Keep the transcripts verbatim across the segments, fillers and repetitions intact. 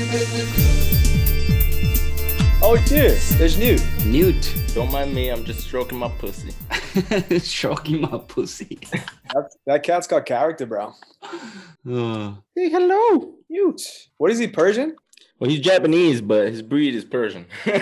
Oh, it's you. There's Newt. Newt. Don't mind me, I'm just stroking my pussy. Stroking my pussy. That, that cat's got character, bro. Uh, Hey, hello, Newt. What is he, Persian? Well, he's Japanese, but his breed is Persian.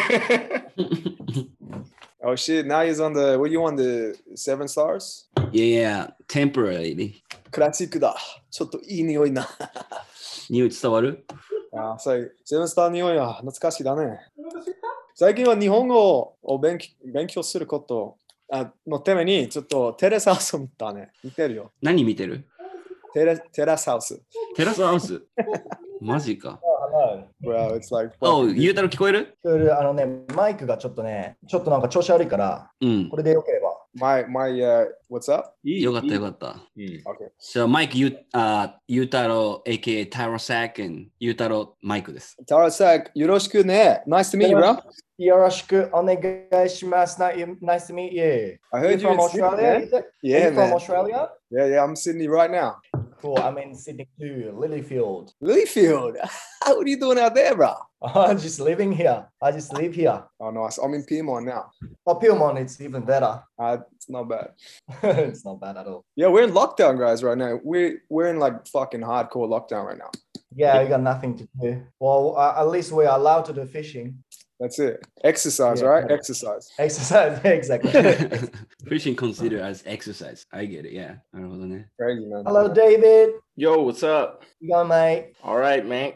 Oh shit! Now he's on the. What do you on the seven stars? yeah, temporarily. クラシックだ。ちょっといい匂いな。 Newt 伝わる？ あ、そう、セブンスター匂いは懐かしいだね。最近は日本語を勉強勉強することあのためにちょっとテレスハウスを見たね。見てるよ。 何見てる？ テレテラスハウス。 テラスハウス。マジか。 Bro, it's like. Oh, ゆうたろ聞こえる？ 聞こえる。あのね、マイクがちょっとね、ちょっとなんか調子悪いから、 うん。 これでよければ。 My, my, uh, what's up? よかったよかった。 Okay. So, マイクゆう、あ、ゆうたろ、エーケーエー タロサック、and ゆうたろマイクです。 タロサック、よろしくね。Nice to meet you, bro. よろしくお願いします。Nice to meet you. I heard you from in Sydney, Australia? man. Yeah, from man. Australia? Yeah, yeah, I'm in Sydney right now. Cool. I'm in Sydney too, Lilyfield. Lilyfield. What are you doing out there, bro? I'm just living here. I just live here. Oh, nice. I'm in Piedmont now. Oh, Pillmont, it's even better. Uh, it's not bad. It's not bad at all. Yeah, we're in lockdown, guys, right now. We're, we're in like fucking hardcore lockdown right now. Yeah, we got nothing to do. Well, uh, at least we're allowed to do fishing. That's it. Exercise, Yeah. right? Exercise. Exercise, exactly. Fishing considered as exercise. I get it, yeah. なるほどね。 Crazy, man. Hello, David. Yo, what's up? You go, mate. All right, man.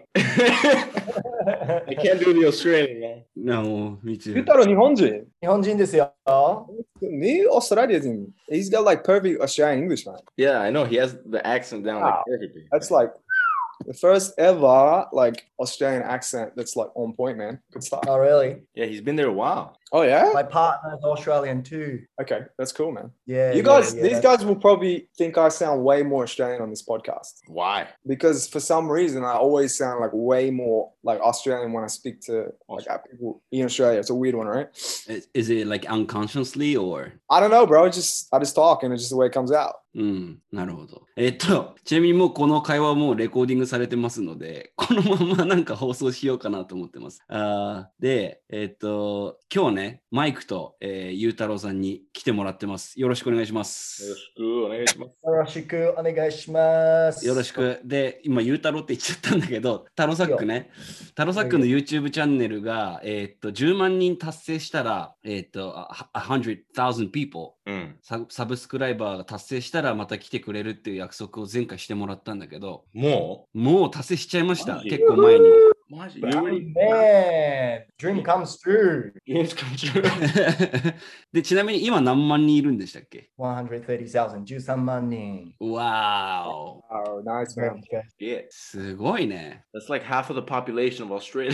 I can't do the Australian, man. No, me too. 言ったら日本人。 日本人ですよ。 ね、オーストラリア人。He's got like perfect Australian English, man. Yeah, I know. He has the accent down Wow. like perfectly. That's like the first ever like Australian accent that's like on point, man. Good stuff. Oh, really? Yeah, he's been there a while. Oh yeah? My partner's Australian too. Okay, that's cool, man. Yeah. You yeah, guys, yeah, these that's- guys will probably think I sound way more Australian on this podcast Why? because for some reason I always sound like way more like Australian when I speak to like uh, people in Australia. It's a weird one, right? Is, is it like unconsciously or? I don't know, bro. It's just I just talk and it's just the way it comes out. うん、なるほど。えっと、ちなみにもうこの会話もうレコーディングされてますので、このままなんか放送しようかなと思ってます。あで、えっと、今日ね、マイクと、えー、ゆうたろうさんに来てもらってます。よろしくお願いします。 よろしくお願いします。 よろしくお願いします。 よろしく。で、今、ゆうたろうって言っちゃったんだけど、タロサックね。タロサックの YouTube チャンネルが、えっと、じゅうまんにん達成したら、えっと、one hundred thousand people、 うん、 サ、サブスクライバーが達成したらまた来てくれるっていう約束を前回してもらったんだけど、 もうもう達成しちゃいました。 マジ結構前に。 マジ Oh, man, dream comes true. Yes, come true. で、ちなみに今何万人いるんでしたっけ？ one hundred thirty thousand, じゅうさんまん人。 わーお。 Oh, nice, man. Yeah. すごいね。 That's like half of the population of Australia.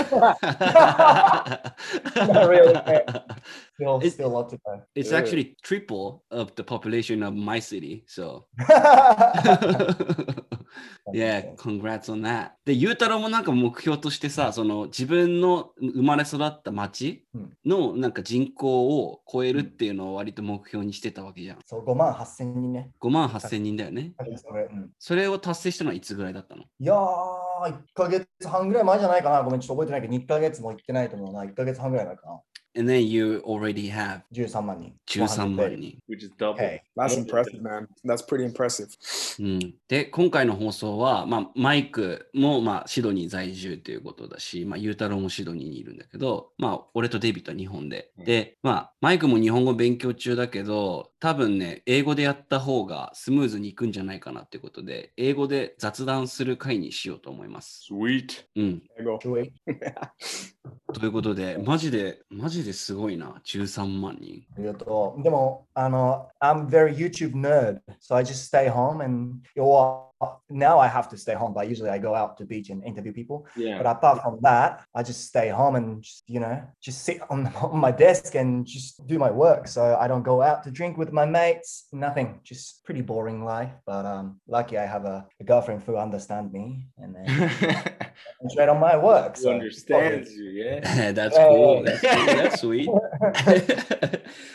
Not really. Still, It's- still a lot to go. It's Yeah. actually triple of the population of my city, so yeah, congrats on that. で、ゆうたろうもなんか目標としてさ、その自分の生まれ育った町のなんか人口を超えるっていうのを割と目標にしてたわけじゃん。 そう、ごまんはっせんにんね。 ごまんはっせんにんだよね。 それ、うん、 それを達成したのはいつぐらいだったの？ いやー、いっかげつはんぐらい前じゃないかな。ごめん、ちょっと覚えてないけど、いっかげつも行ってないと思うな。いっかげつはんぐらい前かな。 And then you already have じゅうさんまんにん。 じゅうさんまんにん。 Which is double. Okay. That's impressive, man. That's pretty impressive. うん、で、今回の放送は、まあ、マイクも、まあ、シドニー在住ということだし、まあ、ゆうたろうもシドニーにいるんだけど、まあ、俺とデイビッドは日本で。で、まあ、マイクも日本語勉強中だけど、多分ね、英語でやった方がスムーズにいくんじゃないかなっていうことで、英語で雑談する回にしようと思います。 Sweet. うん。 There you go. 上位ということで、マジで、マジですごいな、じゅうさんまんにん。 ありがとう。でも、あの、I'm very YouTube nerd, so I just stay home and, well, now I have to stay home, but usually I go out to beach and interview people. Yeah. But apart from that, I just stay home and just, you know, just sit on, on my desk and just do my work. So I don't go out to drink with my mates, nothing. Just pretty boring life. But um, lucky I have a, a girlfriend who understands me and then concentrate on my work. Who So understands you, yeah? That's cool. That's cool. That's sweet.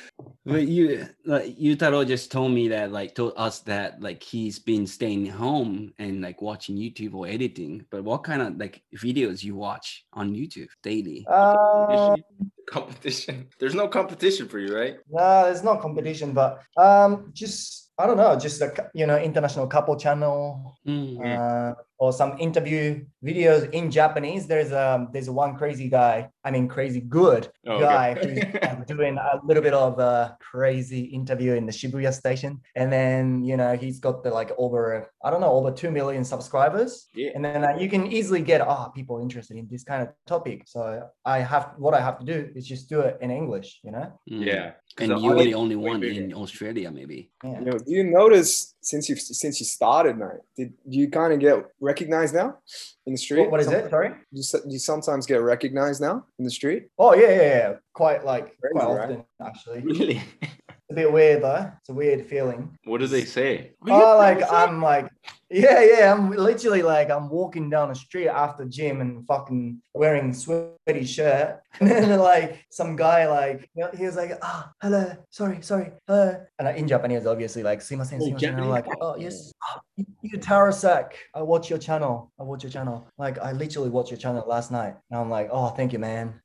But you, like, Yutaro just told me that, like, told us that, like, he's been staying home and like watching YouTube or editing. But what kind of like videos you watch on YouTube daily? Uh, Competition. There's no competition for you, right? no, there's no competition, but um, just I don't know, just a cou- you know international couple channel. Mm. Uh, or some interview videos in Japanese. There's um there's one crazy guy. I mean, crazy good Oh, guy okay. who's uh, doing a little bit of a crazy interview in the Shibuya station, and then you know he's got the like over I don't know over two million subscribers. Yeah. And then uh, you can easily get ah oh, people interested in this kind of topic. So I have what I have to do is just do it in English. You know. Mm. Yeah. And The you're the audience only is way one bigger. in Australia, maybe. Yeah. You know, do you notice since you since you started, man? Did do you kind of get recognized now in the street? What, what is Some- it? Sorry. Do you, so- do you sometimes get recognized now in the street? Oh yeah, yeah, yeah. Quite like Crazy, quite right? often actually. Really? It's a bit weird though. It's a weird feeling. What do they say? Oh, like I'm like, yeah, yeah. I'm literally like I'm walking down the street after gym and fucking wearing sweaty shirt, and then like some guy like you know, he was like, ah, hello, sorry, sorry, hello, and in Japanese obviously like, sumimasen, Oh, sumimasen. And I'm like, Japanese? oh yes, oh, you, you Tarasak, I watch your channel, I watch your channel. Like I literally watched your channel last night, and I'm like, oh, thank you, man.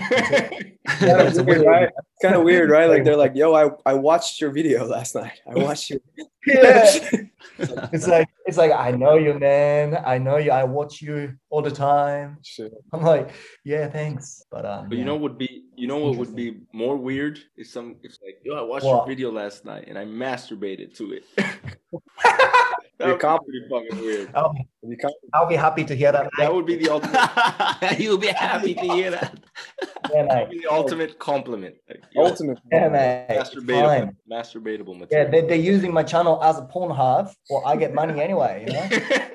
That's weird, weird. right? It's kind of weird, right? Like they're like, "Yo, I, I watched your video last night. I watched your." Yeah. It's like it's like I know you, man. I know you. I watch you all the time. Shit. I'm like, yeah, thanks. But um, But you yeah. know what would be you know what would be more weird is some it's like, yo, I watched What? your video last night and I masturbated to it. That You're would be comp- pretty fucking weird. I'll, You can't- I'll be happy to hear that. That would be the ultimate You'll be happy to hear that. Yeah, that would mate. be the ultimate compliment. Like, yo, Ultimate. Yeah, mate. masturbatable, Fine. masturbatable Yeah, material. they, they're using my channel as a porn hub. Well, I get money anyway. You know.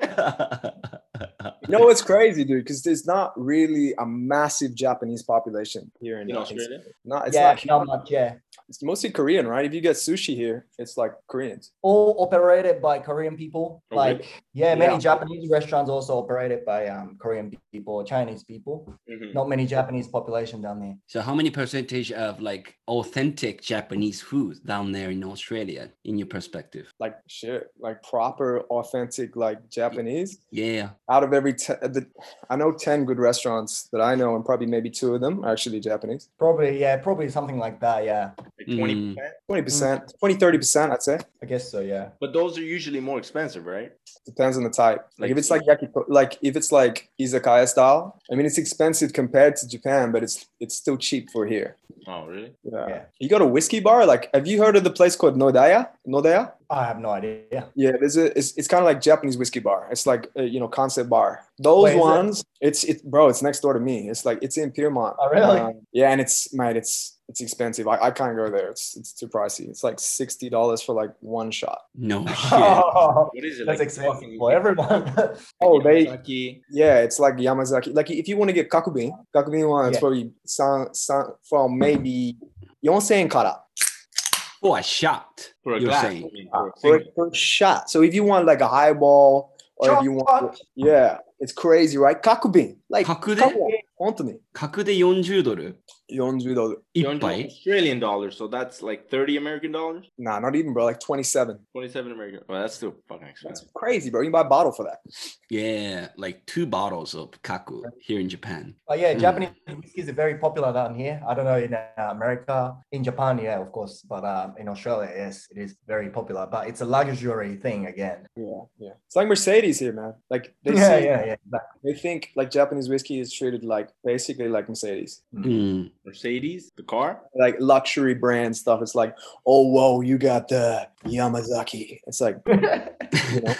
You know what's crazy, dude? Because there's not really a massive Japanese population here in, In uh, Australia? Not, it's yeah, not. not much. Yeah, It's mostly Korean, right? If you get sushi here, it's like Koreans. all operated by Korean people. Oh, Like, really? yeah, many Yeah. Japanese restaurants also operated by um, Korean people, Chinese people. Mhm. Not many Japanese population down there. So how many percentage of like authentic Japanese food down there in Australia in your perspective? Like shit, like proper, authentic, like Japanese. Yeah. Out of every, te- the, I know ten good restaurants that I know, and probably maybe two of them are actually Japanese. Probably, yeah, probably something like that. Yeah, Like twenty percent. twenty percent, twenty, thirty percent, I'd say. I guess so. Yeah. But those are usually more expensive, right? Depends on the type. Like, Like- if it's like yakiko, like if it's like izakaya style, I mean it's expensive compared to Japan, but it's it's still cheap for here. Oh, really? Yeah. Yeah. You go to whiskey bar, like have you heard of the place called Nodaya? Nodaya? I have no idea. Yeah, there's a it's, it's kind of like Japanese whiskey bar. It's like a, you know, concept bar. Those Wait, is it? ones, it's it bro, it's next door to me. It's like it's in Piermont. Oh, really? Um, yeah, and it's mate, it's it's expensive. I, I can't go there. It's it's too pricey. It's like sixty dollars for like one shot. No shit. Oh, What is it? that's like expensive fucking- for everyone. Oh, they Yamazaki? yeah, it's like Yamazaki. Like if you want to get kakubin, kakubin one, it's Yeah. probably san, san, from maybe four thousand円から. For a shot, For a you're glass. saying. I mean, for a For, single. for a shot. So if you want like a highball, or if you want, Shot. yeah, it's crazy, right? Kakubin, like 角で come on, 本当に角でよんじゅうドルよんじゅうドル. 一杯 Australian dollars, so that's like thirty American dollars? Nah, not even, bro. Like twenty-seven. twenty-seven American. Well, that's still fucking That's expensive. crazy, bro. You can buy a bottle for that. Yeah, like two bottles of kaku here in Japan. But yeah, Mm. Japanese whiskeys are very popular down here. I don't know in uh, America, in Japan, yeah, of course, but um, in Australia, yes, it is very popular. But it's a luxury thing again. Yeah, yeah. It's like Mercedes here, man. Like they Yeah, say, yeah, yeah. Exactly. they think like Japanese whiskey is treated like basically like Mercedes, Mm. Mercedes, the car? like luxury brand stuff. It's like, oh, whoa, you got the Yamazaki. It's like, you know,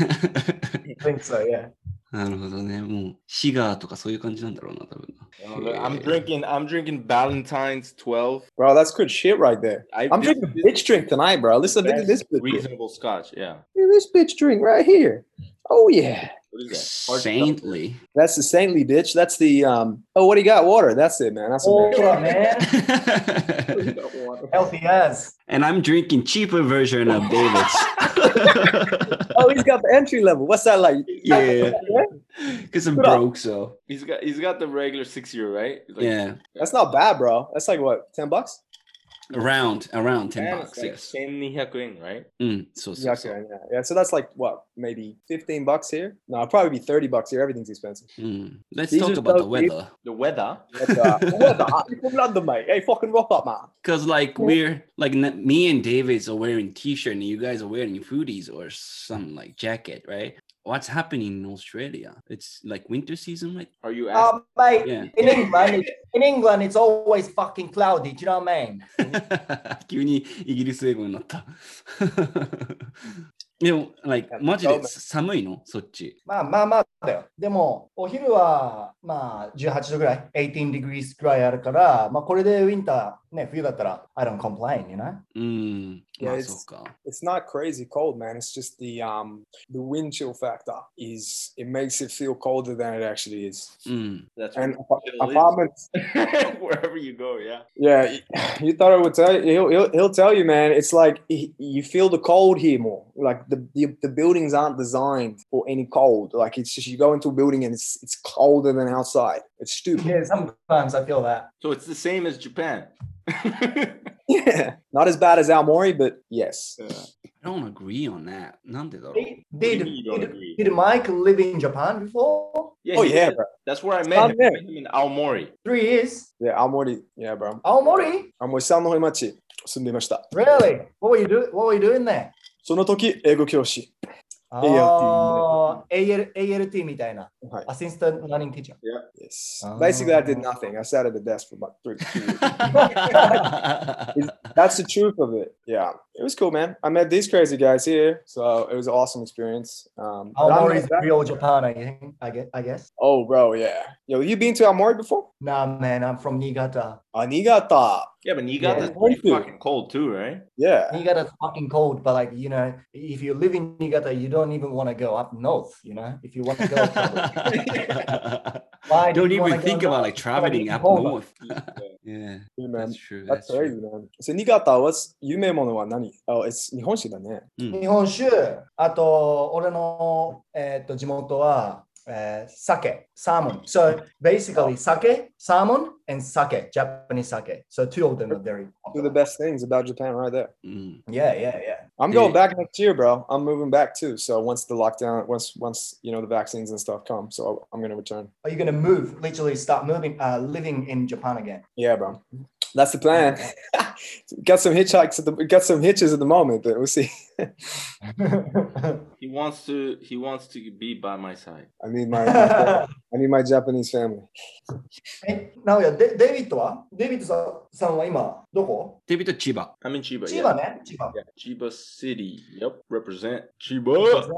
I think so, yeah. なるほどね。もうシガーとかそういう感じなんだろうな、多分な。 I'm drinking. I'm drinking Valentine's twelve. bro, that's good shit right there. I, I'm this- drinking this bitch drink tonight, bro. Listen, look at this bitch. drink. reasonable Scotch. Yeah. Look at this bitch drink right here. Oh yeah, What is that? Hard Saintly. that's the saintly bitch. That's the um. Oh, what do you got? Water. That's it, man. That's Oh, what man. Healthy as. And I'm drinking cheaper version of David's. Oh, he's got the entry level. What's that like? Yeah. Because I'm Put up. broke, so He's got. He's got the regular six euro, right? Like, yeah. That's not bad, bro. That's like what, ten bucks? around around ten And bucks, it's like yes. せんにひゃくえん, right? うん、そうそう Yeah, そう。 okay, yeah, yeah. So that's like what, maybe fifteen bucks here? No, it'll probably be thirty bucks here. Everything's expensive. うん。Let's These talk are about so the weather. The weather. What the? What the? You're from London, mate. Hey, fucking rock up, man. Because like we're like n- me and David's are wearing t-shirt and you guys are wearing hoodies or some like jacket, right? What's happening in Australia? It's like winter season, right? Are you asking? Um, mate, Yeah. in England, in England, it's always fucking cloudy. Do you know what I mean? 急にイギリス英語になった。でも、like マジで寒いのそっち。 まあまあまあだよ。でも、お昼はまあじゅうはちどぐらい、eighteen degrees ぐらいあるから、まあこれでウィンター、ね、冬だったら、I don't complain, you know? うん。 Yeah, まあ it's- そうか。 It's not crazy cold, man. It's just the um the wind chill factor is it makes it feel colder than it actually is. うん。 That's And what it is. apartments, Wherever you go, yeah. yeah, you thought I would tell you. He'll, he'll, he'll tell you, man. It's like he, you feel the cold here more. Like the, the the buildings aren't designed for any cold. Like it's just you go into a building and it's it's colder than outside. It's stupid. Yeah, sometimes I feel that. So it's the same as Japan. Yeah, not as bad as Aomori, but yes. Yeah. I don't agree on that. なんでだろう Did, What do you did, mean you don't did, agree? did Mike live in Japan before? Yeah, Oh he yeah, did. bro. That's where I met Stop him. there. I met him in Aomori. Three years? Yeah, Aomori. Yeah, bro. Aomori? 青森さんの方町住んでいました。 Really? What were you doing? What were you doing there? その時英語教師。 Oh, A L A L T みたいな。 はい。 Assistant Learning Teacher. Yes. Oh. Basically, I did nothing. I sat at the desk for about three. two years. That's the truth of it. Yeah, it was cool, man. I met these crazy guys here, so it was an awesome experience. Um, but I'm Aomori not is that- real Japan, I think. I guess. I guess. Oh, bro, yeah. Yo, you been to Aomori before? Nah, man, I'm from Niigata. Ah, Niigata. Yeah, but Niigata's Yeah. pretty fucking cold too, right? Yeah. Niigata's fucking cold, but like you know, if you live in Niigata, you don't even want to go up north. You know, if you want to go, why do Don't you even wanna go think about north? like It's gonna be traveling up colder. north. Yeah, Hey, man. that's true. That's That's crazy, true. man. So Niigata, what's 有名ものは何? Oh, it's 日本酒だね。 日本酒、あと俺の、えー、と地元は、えー、酒、サーモン。So basically, 酒、サーモン and 酒、Japanese sake. So two of them are very Two of the popular. best things about Japan right there. うん。 Yeah, yeah, yeah. I'm going back next year, bro. I'm moving back too. So once the lockdown, once once you know the vaccines and stuff come, so I'm gonna return. Are you gonna move? Literally start moving, uh, living in Japan again? Yeah, bro. That's the plan. Got some hitchhikes at the got some hitches at the moment, but we'll see. He wants to. He wants to be by my side. I need my, my I need my Japanese family. え、なおや、デデイビッドはデイビッドさんさんは今、どこデビット千葉。 I'm in Chiba. 千 Yeah. 葉ね、千葉。 Yeah, Chiba City. Yep, represent Chiba.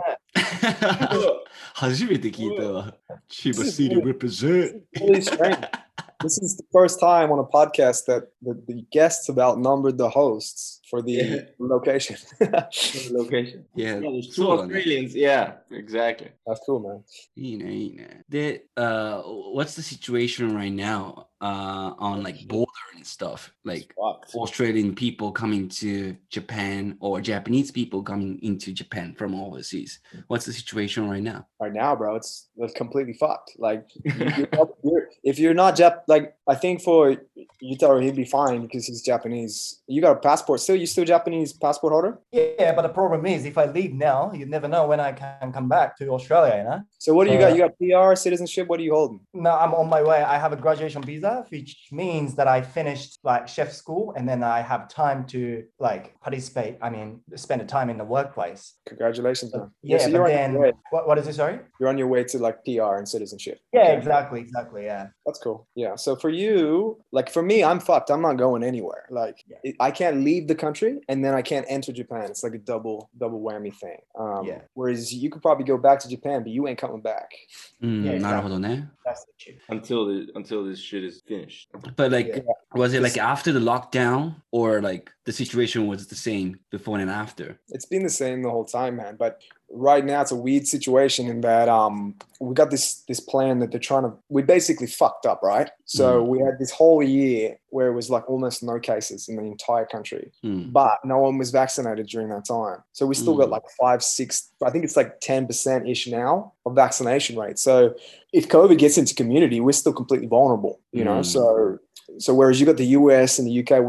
初めて聞いたわ。千葉 City represent. Really strange. This is the first time on a podcast that the, the guests have outnumbered the hosts for the Yeah. location. Location. Yeah, Yeah, there's two そうだね。 Australians. Yeah, exactly. That's cool, man. いいね、いいね。で、uh, what's the situation right now uh, on like border and stuff? Like Fucked. Australian people coming to Japan or Japanese people coming into Japan from overseas. What's the situation right now? Right now, bro, it's, it's completely fucked. Like, you, you're, if you're not Jap, like I think for Yutaro, he'd be fine because he's Japanese. You got a passport still? You still Japanese passport holder? Yeah, but the problem is, if I leave now, you never know when I can come back to Australia, you know? So what do you Uh, got? You got P R, citizenship? What are you holding? No, I'm on my way. I have a graduation visa, which means that I finished like chef school and then I have time to like participate. I mean, spend the time in the workplace. Congratulations, man. Yeah, so but you're on, then your way, what, what is it? Sorry? you're on your way to like P R and citizenship. Yeah, Okay. exactly, exactly. Yeah. That's cool. Yeah. So for you, like for me, I'm fucked. I'm not going anywhere. Like Yeah. it, I can't leave the country and then I can't enter Japan. It's like a double double whammy thing. Um, Yeah. Whereas you could probably go back to Japan, but you ain't coming back. うん、 Yeah, なるほどね。 That's the truth. Until the until this shit is finished. But like, Yeah. was it like after the lockdown or like the situation was the same before and after? It's been the same the whole time, man. But right now it's a weird situation in that um we got this this plan that they're trying to we basically fucked up, right? So Mm. we had this whole year where it was like almost no cases in the entire country. うん。 But no one was vaccinated during that time. So we still got Mm. like five, six, I think it's like ten percent ish now of vaccination rate. So if COVID gets into community, we're still completely vulnerable, you know? Mm. So, so whereas you got the U S and the U K with that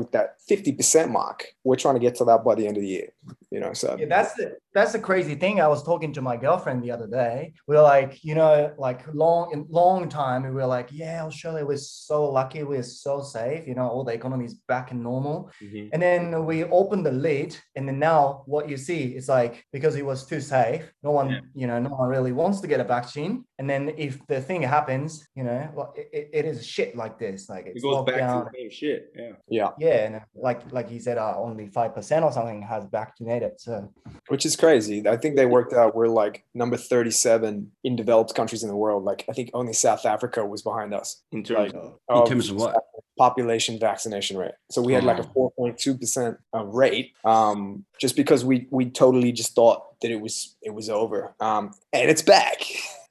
fifty percent mark. We're trying to get to that by the end of the year. You know, so Yeah, that's the that's the crazy thing. I was talking to my girlfriend the other day. We were like, you know, like long in long time, we were like, yeah, Australia was so lucky, we're so safe. You know, all the economy is back in normal. Mhm. And then we opened the lid, and then now what you see is like because it was too safe, no one, Yeah. you know, no one really wants to get a vaccine. And then if the thing happens, you know, well, it, it, it is shit like this, like It it's goes locked back down. to the same shit. Yeah. yeah, Yeah, and like like he said, uh, only five percent or something has vaccinated. So which is crazy. I think they worked out we're like number thirty-seven in developed countries in the world. Like I think only South Africa was behind us. In terms Like, of In terms of what? population vaccination rate. So we had like a Oh. four point two percent uh, rate, um, just because we we totally just thought that it was it was over, um, and it's back.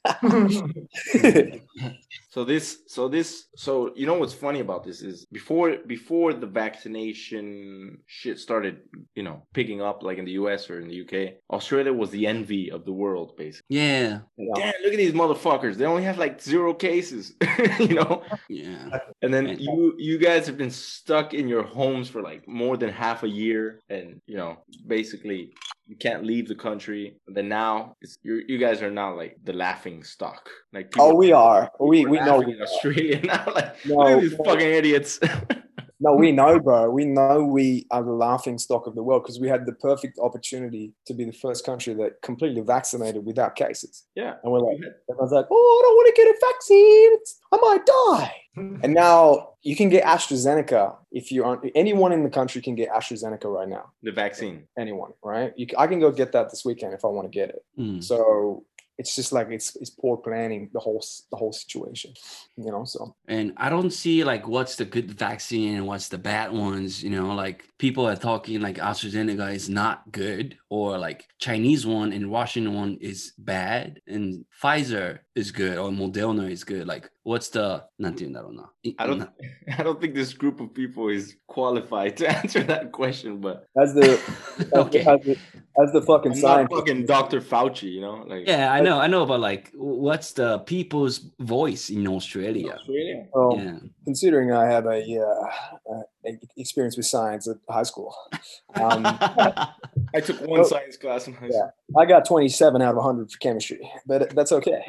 So this, so this, so you know what's funny about this is before before the vaccination shit started, you know, picking up like in the U S or in the U K, Australia was the envy of the world, basically. Yeah. Yeah. Damn, look at these motherfuckers. They only have like zero cases, you know. Yeah. And then And- you you guys have been stuck in your homes for like more than half a year, and you know, basically you can't leave the country. And then now it's, you you guys are now like the laughing stock. Like Oh, we are. We people we are know. laughing in Australia now. Like No, look at these no. fucking idiots. No, we know, bro. We know we are the laughing stock of the world because we had the perfect opportunity to be the first country that completely vaccinated without cases. Yeah. And we're like, everyone's like, oh, I don't want to get a vaccine. It's, I might die. And now you can get AstraZeneca if you aren't. Anyone in the country can get AstraZeneca right now. The vaccine. Anyone, right? You, I can go get that this weekend if I want to get it. Mm. So it's just like it's it's poor planning, the whole the whole situation, you know. So And I don't see like what's the good vaccine and what's the bad ones. You know, like people are talking like AstraZeneca is not good, or like Chinese one and Russian one is bad, and Pfizer is good, or Moderna is good. Like, what's the なんて言うんだろうな。 I don't I don't think this group of people is qualified to answer that question, but as the Okay. as the, as the fucking I'm not scientist, fucking Doctor Fauci, you know? Like Yeah, I know, I know, but like, what's the people's voice in Australia? Australia. um, Yeah. considering I have a, uh, uh, experience with science at high school, um, I took one Oh, science class in high school. I got twenty-seven out of one hundred for chemistry, but that's okay.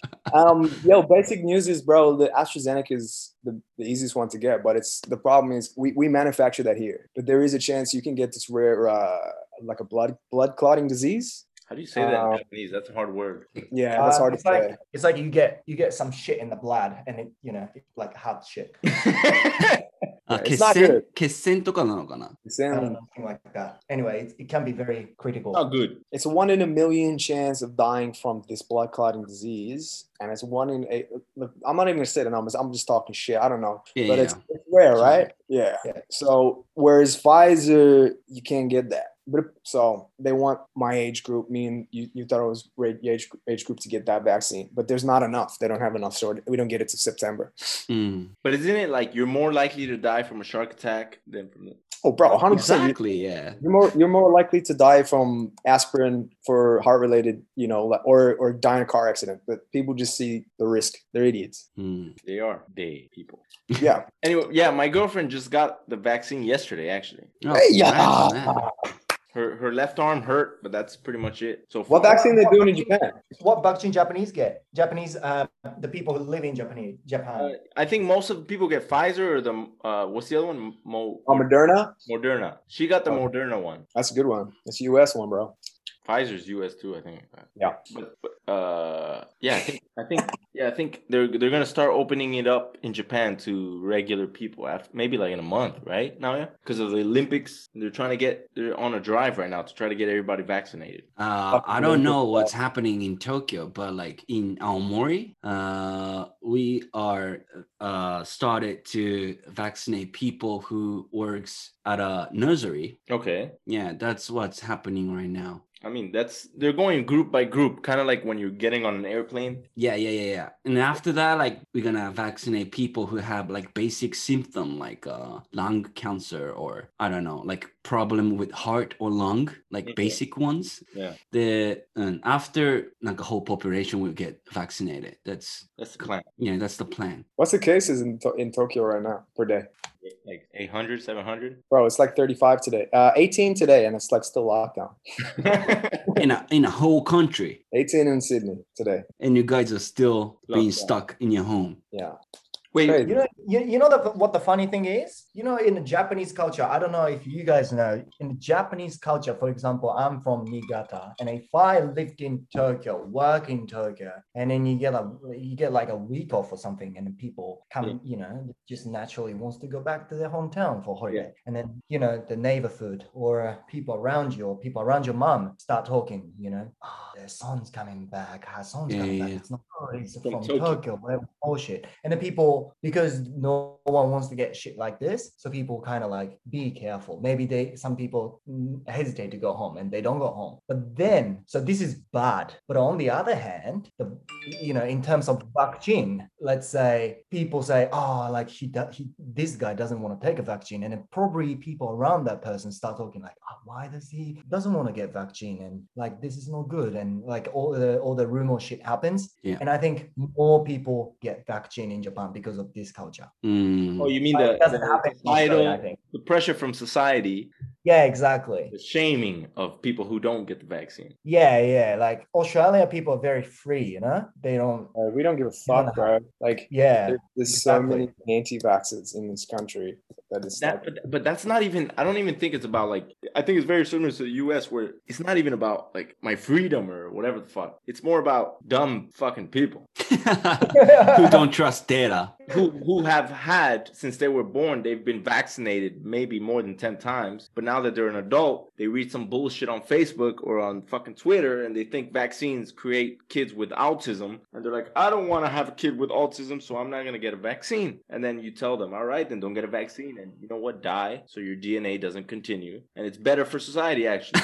Um, yo, basic news is, bro, the AstraZeneca is the, the easiest one to get, but it's the problem is we, we manufacture that here, but there is a chance you can get this rare, uh, like a blood blood clotting disease. How do you say that in Uh, Japanese? That's a hard word. Yeah, that's Uh, hard to it's like say. it's like you get you get some shit in the blood, and it you know it's like hot shit. あ、 It's 血 not 栓 good. 血栓とかなのかな It's, I don't in, know, something like that. Anyway, it, it can be very critical. Not good. it's a one in a million chance of dying from this blood clotting disease, and it's one in a. Look, I'm not even gonna say the numbers. I'm just talking shit. I don't know, Yeah, but yeah. it's, it's rare, Sure. right? Yeah. Yeah. So whereas Pfizer, you can't get that. But so they want my age group, me and you, you thought it was great age age group to get that vaccine, but there's not enough. They don't have enough, so we don't get it to September. うん。 But isn't it like you're more likely to die from a shark attack than from the Oh, bro, one hundred percent. Exactly, yeah. You're more you're more likely to die from aspirin for heart related, you know, like- or or die in a car accident. But people just see the risk. They're idiots. うん。 they are they people. Yeah. Anyway, yeah, my girlfriend just got the vaccine yesterday actually. Oh, Hey, yeah. congrats on that. Her her left arm hurt, but that's pretty much it. So What far. vaccine they doing in Japan? What vaccine Japanese get? Japanese, uh, the people who live in Japan, Japan. Uh, I think most of the people get Pfizer or the uh what's the other one? Mo- Oh, Moderna. Moderna. She got the Oh. Moderna one. That's a good one. It's a U S one, bro. Pfizer's U S too, I think. Yeah. But, but uh, yeah, I think I think yeah, I think they're they're gonna start opening it up in Japan to regular people after maybe like in a month, right? Now, yeah, because of the Olympics, they're trying to get they're on a drive right now to try to get everybody vaccinated. Uh, I don't know what's happening in Tokyo, but like in Aomori, uh, we are uh, started to vaccinate people who works at a nursery. Okay. Yeah, that's what's happening right now. I mean, that's they're going group by group, kind of like when you're getting on an airplane. Yeah, yeah, yeah, yeah. And after that, like we're gonna vaccinate people who have like basic symptom like uh lung cancer or I don't know, like problem with heart or lung, like Okay. basic ones. Yeah, The and after like the whole population will get vaccinated. That's that's the plan. yeah, that's the plan. What's the cases in to- in Tokyo right now per day? Like eight hundred, seven hundred? Bro, it's like thirty-five today. Uh, eighteen today, and it's like still lockdown. in a in a whole country, eighteen in Sydney today. and you guys are still being Lockdown. stuck in your home. Yeah. Wait, Crazy. You know, you, you know the, what the funny thing is? You know, in the Japanese culture, I don't know if you guys know, in the Japanese culture, for example, I'm from Niigata, and if I lived in Tokyo, work in Tokyo, and then you get a you get like a week off or something, and then people come, Yeah. you know, just naturally wants to go back to their hometown for holiday, Yeah. and then you know the neighborhood or uh, people around you or people around your mom start talking, you know, oh, their son's coming back, her son's Yeah, coming yeah, back, yeah. it's not good, he's From from, Tokyo. Tokyo, whatever bullshit, and then people, because no one wants to get shit like this, so people kind of like be careful. Maybe they some people mm, hesitate to go home and they don't go home. But then, so this is bad. But on the other hand, the you know, in terms of vaccine, let's say people say, oh, like he, do- he this guy doesn't want to take a vaccine, and then probably people around that person start talking like, oh, why does he doesn't want to get vaccine, and like this is not good, and like all the all the rumor shit happens. Yeah. And I think more people get vaccine in Japan because of this culture. Mm. oh, you mean Like, the, it doesn't the happen in Australia, I societal, think. the pressure from society, Yeah, exactly. the shaming of people who don't get the vaccine. Yeah, yeah. Like Australia people are very free, you know? They don't, Uh, we don't give a You wanna fuck, bro. Like, yeah. there- there's so exactly. many anti-vaxxers in this country that it's That, like, but, but that's not even. I don't even think it's about like. I think it's very similar to the U S where it's not even about like my freedom or whatever the fuck. It's more about dumb fucking people Who don't trust data. who who have had since they were born. They've been vaccinated maybe more than ten times, but now that they're an adult, they read some bullshit on Facebook or on fucking Twitter, and they think vaccines create kids with autism, and they're like, I don't want to have a kid with autism, so I'm not gonna get a vaccine. And then you tell them, all right, then don't get a vaccine, and you know what, die, so your D N A doesn't continue, and it's better for society actually.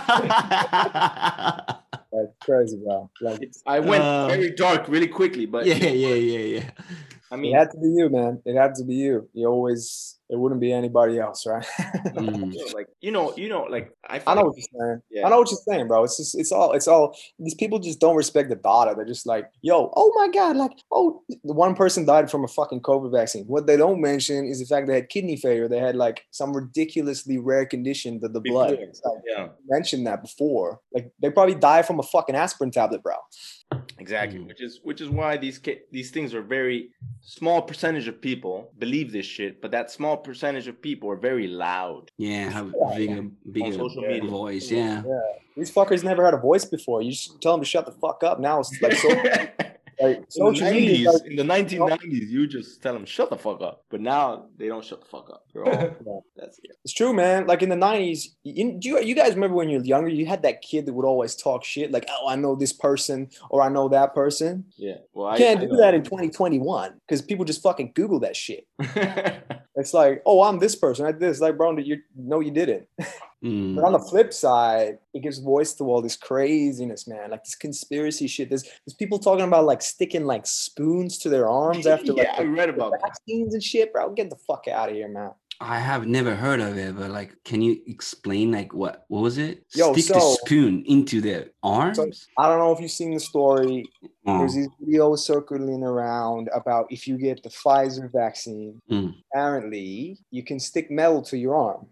like crazy, bro. Like, It's, I went Uh, very dark really quickly, but yeah, yeah, yeah, yeah. I it mean, had to be you, man. It had to be you. You always, it wouldn't be anybody else, right? Mm. you know, like you know, you know, like I, I feel know like- what you're saying. Yeah. I know what you're saying, bro. It's just, it's all, it's all. These people just don't respect the data. They're just like, yo, oh my god, like, oh, the one person died from a fucking COVID vaccine. What they don't mention is the fact they had kidney failure. They had like some ridiculously rare condition that the blood. Before, It's like, yeah, mentioned that before. Like, they probably died from a fucking aspirin tablet, bro. exactly. Mm. Which is which is why these ca- these things are very small percentage of people believe this shit, but that small percentage of people are very loud. Yeah, have bigger, bigger social media. voice. Yeah. Yeah, these fuckers never had a voice before. You just tell them to shut the fuck up. Now it's like so. Like, in the social media is nineties, like, in the nineteen nineties, you just tell them shut the fuck up. But now they don't shut the fuck up. They're all, that's it. it's true, man. Like in the nineties, you, do you, you guys remember when you were younger, you had that kid that would always talk shit, like, oh, I know this person or I know that person. Yeah. Well, You I can't I do that in twenty twenty-one because people just fucking Google that shit. know. It's like, oh, I'm this person. I did this. Like, bro, you no, you didn't. Mm. But on the flip side, it gives voice to all this craziness, man. Like this conspiracy shit. There's there's people talking about like sticking like spoons to their arms after like yeah, I read about that. vaccines and shit, bro. Get the fuck out of here, man. I have never heard of it, but like, can you explain like what what was it? Yo, Stick the so- spoon into their arms? I don't know if you've seen the story. Oh. There's these videos circling around about if you get the Pfizer vaccine, Mm. apparently you can stick metal to your arm.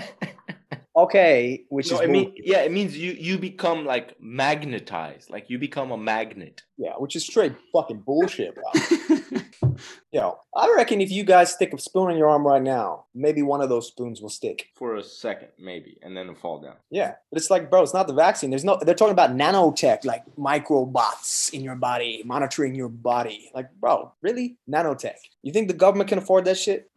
Okay, which No, is it mean, bullshit. yeah, it means you you become like magnetized, like you become a magnet. yeah, which is straight fucking bullshit, bro. Yo, I reckon if you guys stick a spoon in your arm right now, maybe one of those spoons will stick. For a second, maybe, and then it'll fall down. Yeah, but it's like, bro, it's not the vaccine. There's no. They're talking about nanotech, like microbots in your body, monitoring your body. Like, bro, really? Nanotech? You think the government can afford that shit?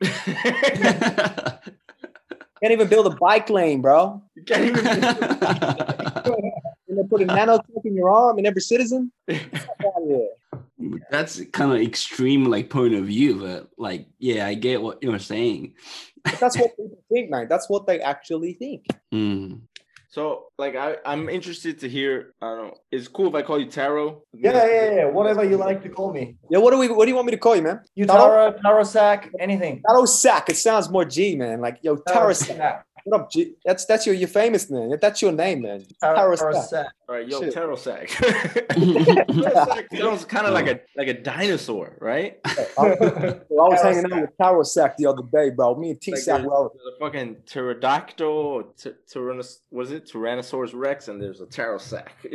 Can't even build a bike lane, bro. You can't even. And they put a nanotech in your arm and every citizen. Fuck out of here. That's kind of extreme like point of view, but like, yeah, I get what you're saying. But that's what people think, man. That's what they actually think. Mm. So, like, I I'm interested to hear. I don't know. It's cool if I call you Taro. Yeah, yeah, yeah. Whatever you like to call me. Yeah, what do we? What do you want me to call you, man? Utaro, Taro Sack, anything. Taro Sack. It sounds more G, man. Like, yo, Taro Sack. Sack. What up, G? That's that's your your famous name. That's your name, man. Taro Taro Sack. Sack. All right, yo, Shit. Taro sack. Taro sack sounds kind of like a like a dinosaur, right? I, I was hanging out with Tarosack the other day, bro. Me and Like T-Sack there's, were there's a fucking pterodactyl, t- tyrannos- what is it? Tyrannosaurus Rex, and there's a Taro sack. You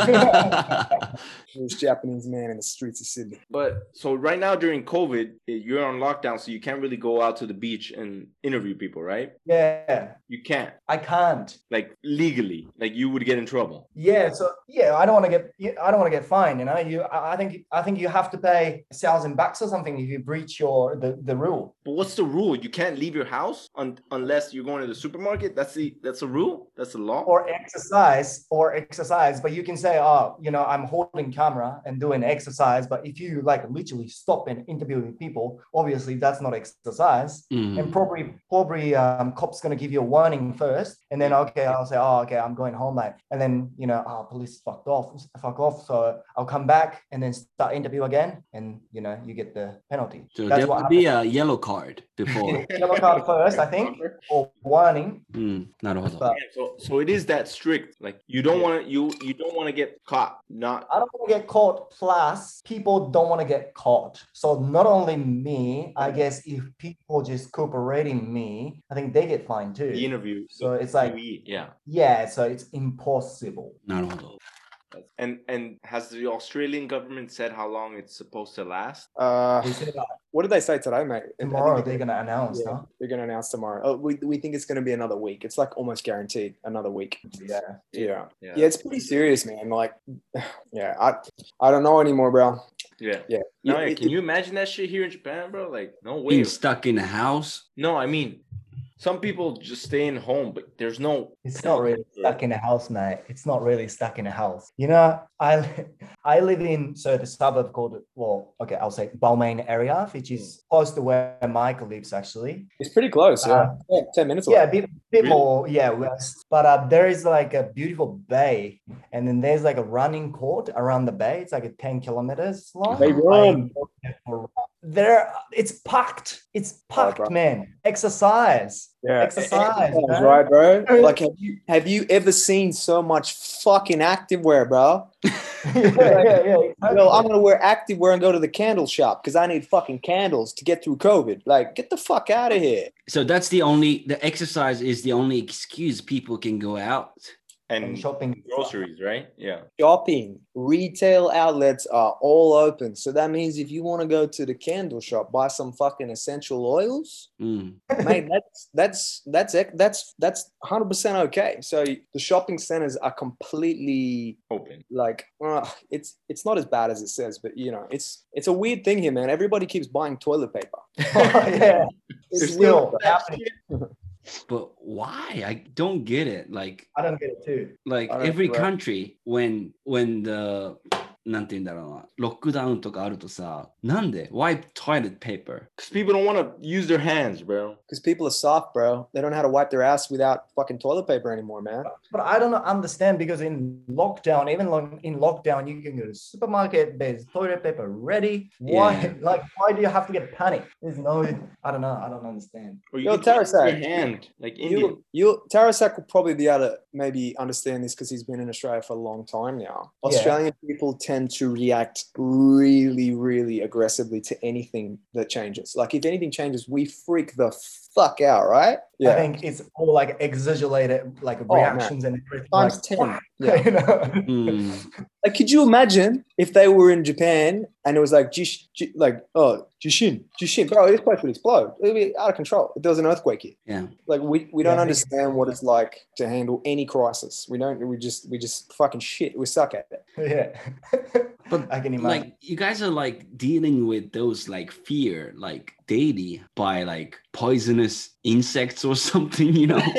know? this Japanese man in the streets of Sydney. But so right now during COVID, you're on lockdown, so you can't really go out to the beach and interview people, right? Yeah, You can't, I can't. like legally, like you would get in trouble. Yeah, so yeah, I don't want to get yeah, I don't want to get fined. You know, you I I think I think you have to pay a thousand bucks or something if you breach your the, the rule. But what's the rule? You can't leave your house un- unless you're going to the supermarket. That's the that's a rule. That's the law. Or exercise, or exercise. But you can say, oh, you know, I'm holding camera and doing exercise. But if you like literally stop and interviewing people, obviously that's not exercise. Mm. And probably probably um, cops gonna give you a warning first, and then okay, I'll say, oh, okay, I'm going home, mate. And then you know, oh, police fucked off, fuck off. So I'll come back and then start interview again, and you know, you get the penalty. So That's there what will be a yellow card before. Yellow card first, I think, or warning. うん、なるほど。 But So so it is that strict. Like you don't want to you you don't want to get caught. Not I don't want to get caught. Plus, people don't want to get caught. So not only me, I guess if people just cooperating me, I think they get fined too. the interview. So it's like, yeah. yeah, so it's impossible. なるほど。 And and has the Australian government said how long it's supposed to last? Uh, They said, uh, what did they say today, mate? I think tomorrow they're they're gonna announce, Yeah, huh? they're going to announce tomorrow. Oh, we, we think it's going to be another week. It's like almost guaranteed another week. Yeah. Yeah. Yeah. Yeah, it's pretty serious, man. Like, yeah, I I don't know anymore, bro. Yeah. Yeah. No, It- can it- you imagine that shit here in Japan, bro? Like, no way. Being stuck in a house. No, I mean, some people just stay in home, but there's no. It's not really stuck in a house, mate. It's not really stuck in a house. You know, I I live in so the suburb called well, okay, I'll say Balmain area, which is close to where Michael lives actually. It's pretty close. Yeah. Uh, yeah ten minutes away. Yeah, a bit, bit Really? more, yeah, west. But uh, there is like a beautiful bay, and then there's like a running court around the bay. It's like a ten kilometers long. They run. I- There, it's packed. It's packed, bro. man. Exercise, Yeah. exercise, That's man. right, bro. Like, have you have you ever seen so much fucking activewear, bro? yeah, yeah, yeah. exactly. Yo, I'm gonna wear activewear and go to the candle shop because I need fucking candles to get through COVID. Like, get the fuck out of here. So that's the only, the exercise is the only excuse people can go out. And And shopping. groceries, right? Yeah. Shopping, retail outlets are all open. So that means if you want to go to the candle shop, buy some fucking essential oils, うん。 mate, that's that's that's ec- that's that's one hundred percent okay. So the shopping centers are completely Open. like uh, it's it's not as bad as it says, but you know, it's it's a weird thing here, man. Everybody keeps buying toilet paper. Oh, yeah, It's it's weird. still happening. But why? I don't get it. Like, I don't get it too. like I don't- every right. country, when, when the, なんて言うんだろうな、ロックダウンとかあるとさ、なんで Why toilet paper? Because people don't want to use their hands, bro. Because people are soft, bro. They don't know how to wipe their ass without fucking toilet paper anymore, man. But I don't understand because in lockdown, even lo- in lockdown, you can go to the supermarket, there's toilet paper ready. Why? Yeah. Like, why do you have to get panicked? There's no, I don't know. I don't understand. Or you Yo, can just use Tarasak, your hand, like Indian. You, you, Tarasak will probably be able to maybe understand this because he's been in Australia for a long time now. Yeah. Australian people tend to react really, really aggressively to anything that changes. Like if anything changes, we freak the fuck out, right? I think it's all like exaggerated, like Oh, man. reactions and everything. Times like, ten. Yeah. you know? うん。 Like, could you imagine if they were in Japan and it was like, jish, j- like, oh, Jishin, Jishin, bro, this place would explode. It would be out of control if there was an earthquake here. Yeah. Like, we, we don't Yeah. understand what it's like to handle any crisis. We don't, we just, we just fucking shit. We suck at it. Yeah. But I can imagine. like you guys are like dealing with those like fear like daily by like poisonous insects or something, you know.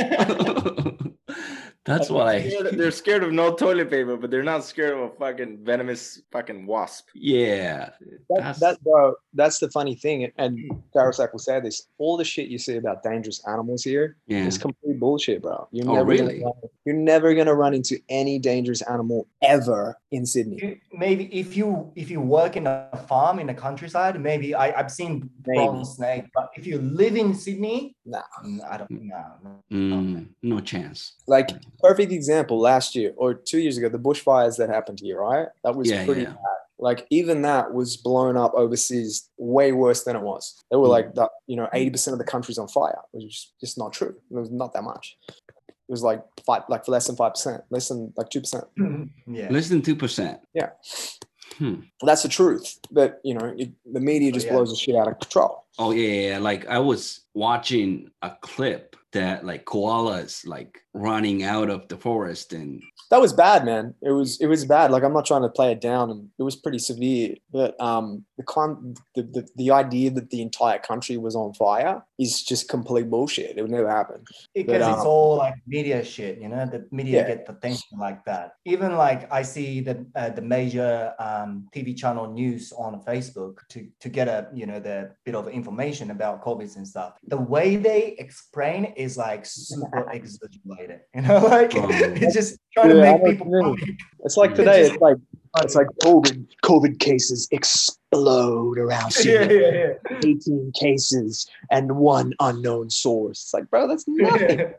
That's what I They're, they're scared of no toilet paper, but they're not scared of a fucking venomous fucking wasp. yeah. That, That's- that, bro, that's the funny thing. And Tarasak will say this, all the shit you see about dangerous animals here Yeah. is complete bullshit, bro. You're Oh, never really? gonna run, you're never gonna run into any dangerous animal ever in Sydney. You- maybe if you if you work in a farm in the countryside, maybe I, I've seen Maybe. bronze snake. But if you live in Sydney, Nah. mm, I don't know. Mm, no chance. Like perfect example last year or two years ago, the bushfires that happened here, right? That was Yeah, pretty yeah. bad. Like even that was blown up overseas way worse than it was. They were Mm. like, that, you know, eighty percent of the country's on fire, which is just not true. It was not that much. It was like five, like less than five percent, less than like two percent. Yeah. Less than two percent. Yeah. Hmm. That's the truth. But you know, it, the media just yeah. blows the shit out of control. Oh yeah, yeah, yeah. Like I was watching a clip that like koalas like running out of the forest and That was bad, man. It was it was bad. Like I'm not trying to play it down, and it was pretty severe. But um, the con the, the the idea that the entire country was on fire is just complete bullshit. It would never happen. Because But, it's um, all like media shit, you know. The media Yeah. get the attention like that. Even like I see the uh, the major um, T V channel news on Facebook to to get a you know the bit of information about COVID and stuff. The way they explain is like super exaggerated, you know, like Oh. it's just trying to Yeah, I make know people what you mean. panic. It's like Yeah. today. Just- It's like it's like COVID COVID cases explode around yeah, Sydney. yeah, yeah. eighteen cases and one unknown source. It's like, bro, that's nothing.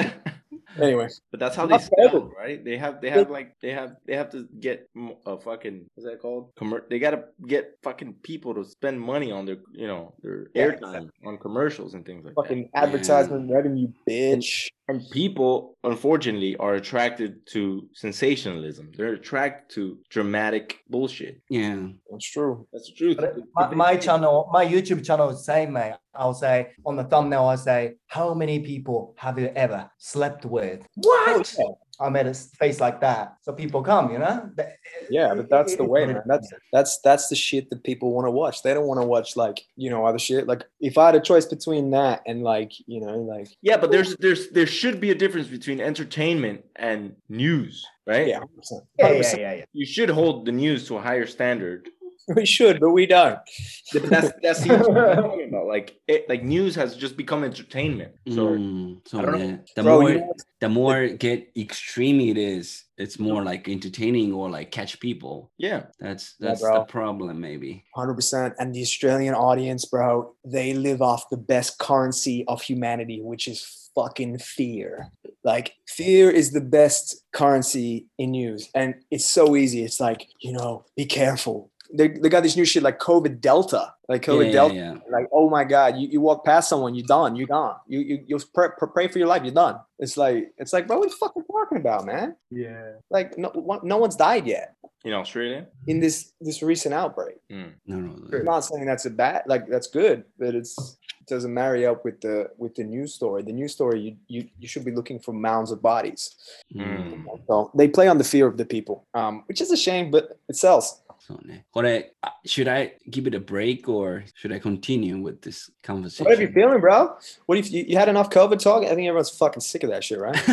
Anyway, But that's how they Not sell, bad. right? They have, they have like, they have, they have to get m- a fucking, what's that called? Commer- they gotta get fucking people to spend money on their, you know, their Yeah, airtime on commercials and things like fucking advertisement revenue, bitch. that. And people, unfortunately, are attracted to sensationalism. They're attracted to dramatic bullshit. yeah. That's true. That's the truth. But my, my channel, my YouTube channel is the same, mate. I'll say on the thumbnail, I'll say, how many people have you ever slept with? What? Oh, I made a face like that. So people come, you know? That- Yeah, but that's the it- way, it- man. That's that's that's the shit that people want to watch. They don't want to watch like, you know, other shit. Like if I had a choice between that and like, you know, like Yeah, but there's, there's, there should be a difference between entertainment and news, right? yeah, one hundred percent. yeah, one hundred yeah, percent. yeah, yeah. You should hold the news to a higher standard. We should, but we don't. But that's that's the what I'm talking about. Like it, like news has just become entertainment. So Mm, so I don't know. yeah, the Bro, more you know, the more get extreme it is, it's more like entertaining or like catch people. yeah, That's Yeah, that's bro. the problem, maybe. one hundred percent. And the Australian audience, bro, they live off the best currency of humanity, which is fucking fear. Like, fear is the best currency in news. And it's so easy. It's like, you know, be careful. They, they got this new shit like COVID Delta. Like COVID yeah, yeah, Delta. yeah. Like, oh my God, you, you walk past someone, you're done. You're gone. You, you, you pray, pray for your life, you're done. It's like, it's like, bro, what the fuck are you talking about, man? Yeah. Like, no, one- no one's died yet in Australia. in this this recent outbreak. Mm. No, no. I'm not saying that's a bad, like that's good, but it's it doesn't marry up with the with the news story. The news story, you you, you should be looking for mounds of bodies. Mm. So they play on the fear of the people, um, which is a shame, but it sells. そうね。これ、あ should I give it a break or should I continue with this conversation? What are you feeling, bro? What if you, you had enough COVID talk? I think everyone's fucking sick of that shit, right?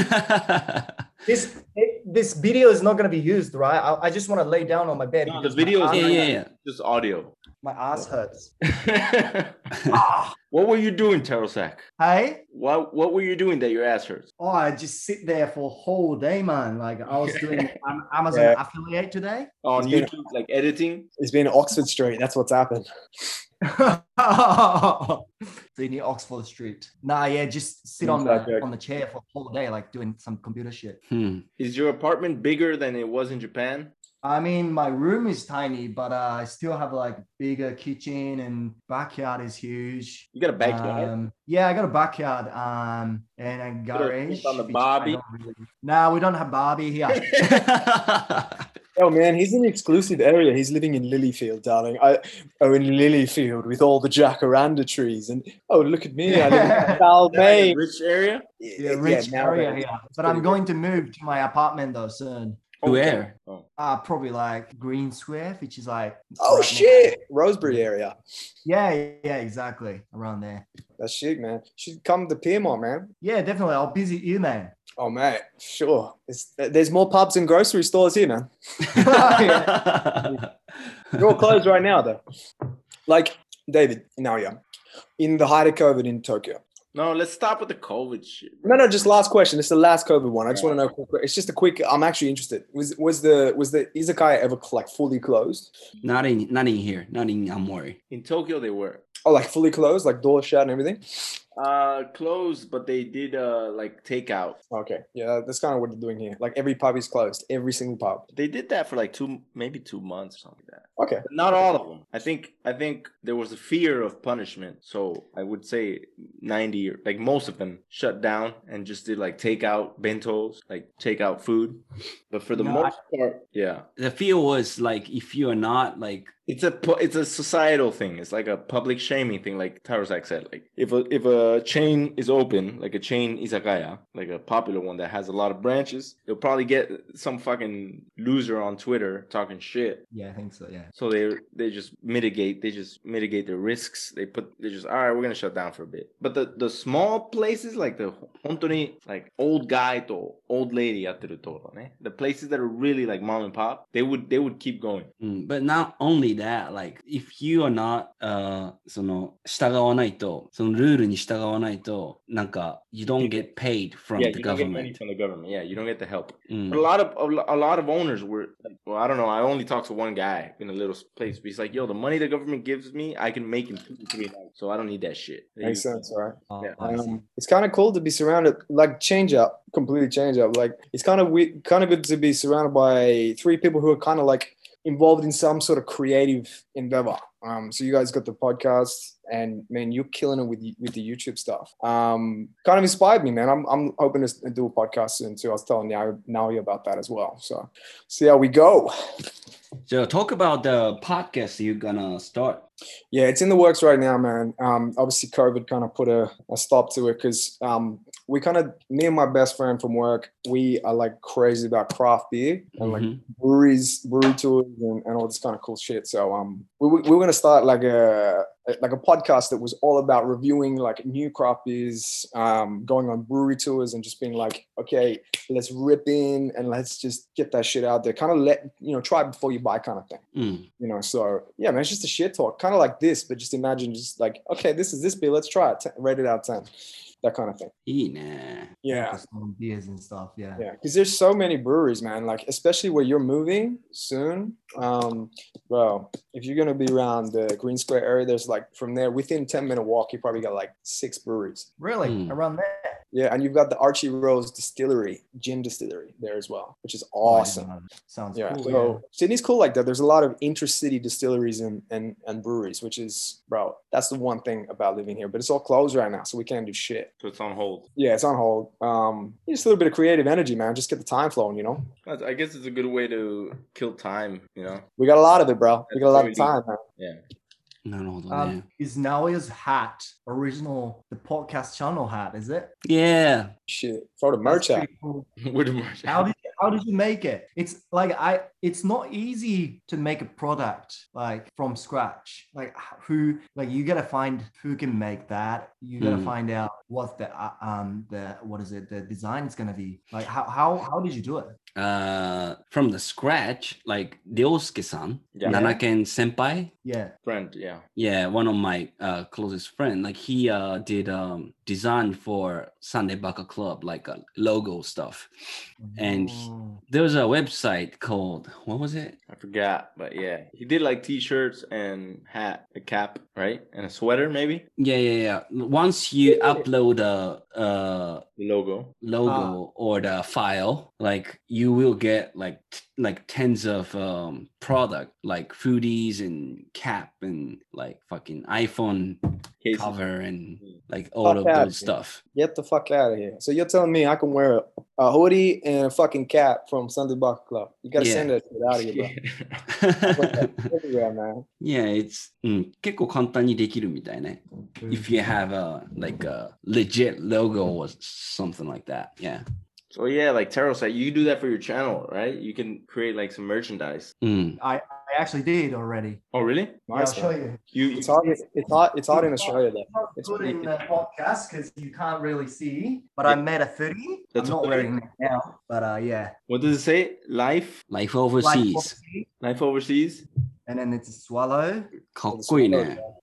This it, this video is not going to be used, right? I, I just want to lay down on my bed. No, the because video my is yeah, ass- yeah, yeah. just audio. My ass hurts. Ah, what were you doing, Terosak? Hey? What What were you doing that your ass hurts? Oh, I just sit there for a whole day, man. Like I was doing um, Amazon Yeah. affiliate today. On It's been- YouTube, like editing. It's been Oxford Street. That's what's happened. Sydney Oxford Street. Nah, yeah, just sit on Inside the joke. on the chair for a whole day, like doing some computer shit. Hmm. Is your apartment bigger than it was in Japan? I mean, my room is tiny, but uh, I still have like bigger kitchen and backyard is huge. You got a backyard. Um, yeah, I got a backyard um, and a garage. on the which I Barbie? don't really- Nah, we don't have Barbie here. Oh man, he's in the exclusive area. He's living in Lilyfield, darling. I oh in Lilyfield with all the jacaranda trees, and oh look at me, I live in Like a Balmain. rich area. Yeah, rich now area that- here. it's But I'm pretty going to move to my apartment though soon. Where? Oh. Uh, probably like Green Square, which is like. Oh right next- shit, Rosebery area. Yeah, yeah, exactly. Around there. That's shit, man. You should come to Piermont, man. Yeah, definitely. I'll visit you, man. Oh mate, sure. It's, there's more pubs and grocery stores here, man. They're all closed right now, though. Like David, now yeah, in the height of COVID in Tokyo. No, let's stop with the COVID shit. No, no, just last question. It's the last COVID one. I just want to know. It's just a quick. I'm actually interested. Was was the was the izakaya ever like fully closed? Not in, not in here. Not in Amori. In Tokyo, they were. Oh, like fully closed, like door shut and everything. Uh, closed, but they did uh like takeout. Okay, yeah, that's kind of what they're doing here. Like every pub is closed, every single pub. They did that for like two, maybe two months or something like that. Okay, But not all of them. I think I think there was a fear of punishment, so I would say ninety, or like most of them, shut down and just did like takeout bentos, like takeout food. But for the No, most part, yeah, The fear was like if you are not like it's a pu- it's a societal thing. It's like a public shaming thing, like Tarosak said. Like if a if a chain is open, like a chain izakaya, like a popular one that has a lot of branches, they'll probably get some fucking loser on Twitter talking shit. Yeah, I think so. Yeah. So they they just mitigate they just mitigate their risks. They put they just all right, we're gonna shut down for a bit. But the the small places like the hontoni like old guy to old lady yateru toro ne, the places that are really like mom and pop, they would they would keep going. Mm, but not only that, like if you are not, uh, その従わないと、そのルールに従わないと、なんか you don't get paid from Yeah, the you don't get money government. from the government. Yeah, you don't get the help. うん But a lot of a, lo- a lot of owners were like, well, I don't know. I only talked to one guy in a little place. But he's like, yo, the money the government gives me, I can make in two to three nights. So I don't need that shit. makes sense, all right. Oh, Yeah. I see. Um, it's kind of cool to be surrounded, like change up, completely change up. Like it's kind of we kind of good to be surrounded by three people who are kind of like involved in some sort of creative endeavor. Um, so you guys got the podcast, and man, you're killing it with with the YouTube stuff. Um, kind of inspired me, man. I'm I'm hoping to do a podcast soon too. I was telling Naomi Naomi about that as well. So see how we go. So talk about the podcast you're gonna start. Yeah, it's in the works right now, man. Um, obviously, COVID kind of put a, a stop to it because um, we kind of, me and my best friend from work, we are like crazy about craft beer and like Mhm. breweries, brewery tours, and, and all this kind of cool shit. So um, we, we we're gonna start like a like a podcast that was all about reviewing like new craft beers, um, going on brewery tours, and just being like, okay, let's rip in and let's just get that shit out there. Kind of let you know, try before you buy, kind of thing. うん。 You know, so yeah, man, it's just a shit talk, kind of like this, but just imagine just like, okay, this is this beer, let's try it, Ten- rate it out of ten, that kind of thing. いいね。 Yeah, Focus on beers and stuff. Yeah. yeah, because there's so many breweries, man. Like especially where you're moving soon, um, bro. If you're gonna be around the Green Square area, there's like from there within ten minute walk, you probably got like six breweries. Really? Mm. Around there? Yeah, and you've got the Archie Rose Distillery, gin distillery there as well, which is Oh, I didn't awesome. know that. Sounds Yeah, cool. so Sydney's cool like that. There's a lot of intercity distilleries and, and and breweries, which is, bro, that's the one thing about living here. But it's all closed right now, so we can't do shit. So it's on hold. Yeah, it's on hold. Um, just a little bit of creative energy, man. Just get the time flowing, you know. That's- I guess it's a good way to kill time. You know. We got a lot of it, bro. We got a lot of That's what time, man. Yeah. なるほどね。 Um, is Naoya's hat original, the podcast channel hat, is it? Yeah. Shit, throw the merch That's out. pretty cool. Where the merch? How did how did you make it? It's like I it's not easy to make a product like from scratch. Like h- who like you gotta find who can make that. You gotta Mm. find out what the uh, um the what is it the design is gonna be. Like how how how did you do it? Uh, from the scratch, like Ryosuke-san, Yeah. Nanaken Senpai. Yeah. Friend. Yeah. Yeah, one of my uh, closest friend. Like he uh, did um, design for Sunday Baka Club, like uh, logo stuff. And he- Oh. There's a website called, what was it? I forgot, but yeah, he did like t-shirts and hat, a cap, right, and a sweater, maybe Yeah, yeah, yeah. Once you upload a, a the logo. logo or the file, like you will get like t- like tens of um product like foodies and cap and like fucking iPhone Cases. cover and Mm. like all of Fuck out, those dude. stuff. Get the fuck out of here. So you're telling me I can wear a, a hoodie and a fucking cap from Sunday Buck Club? You gotta Yeah. send that shit out of here, bro. Put that everywhere, man. Yeah, it's うん結構簡単にできるみたいね。If you have a like a legit logo or something like that. Yeah. So yeah, like Taro said, you do that for your channel, right? You can create like some merchandise. うん。 I, I actually did already. Oh, really? Yeah, I'll Nice, show man. you. You, you It's hot. It's hot. It's hot in Australia, though. It's not It's good pretty- in the podcast because you can't really see, but I made a hoodie. That's I'm not okay. wearing it now, but uh, yeah. what does it say? Life, Life Like, overseas. life overseas. and then it's a swallow. かっこいいね。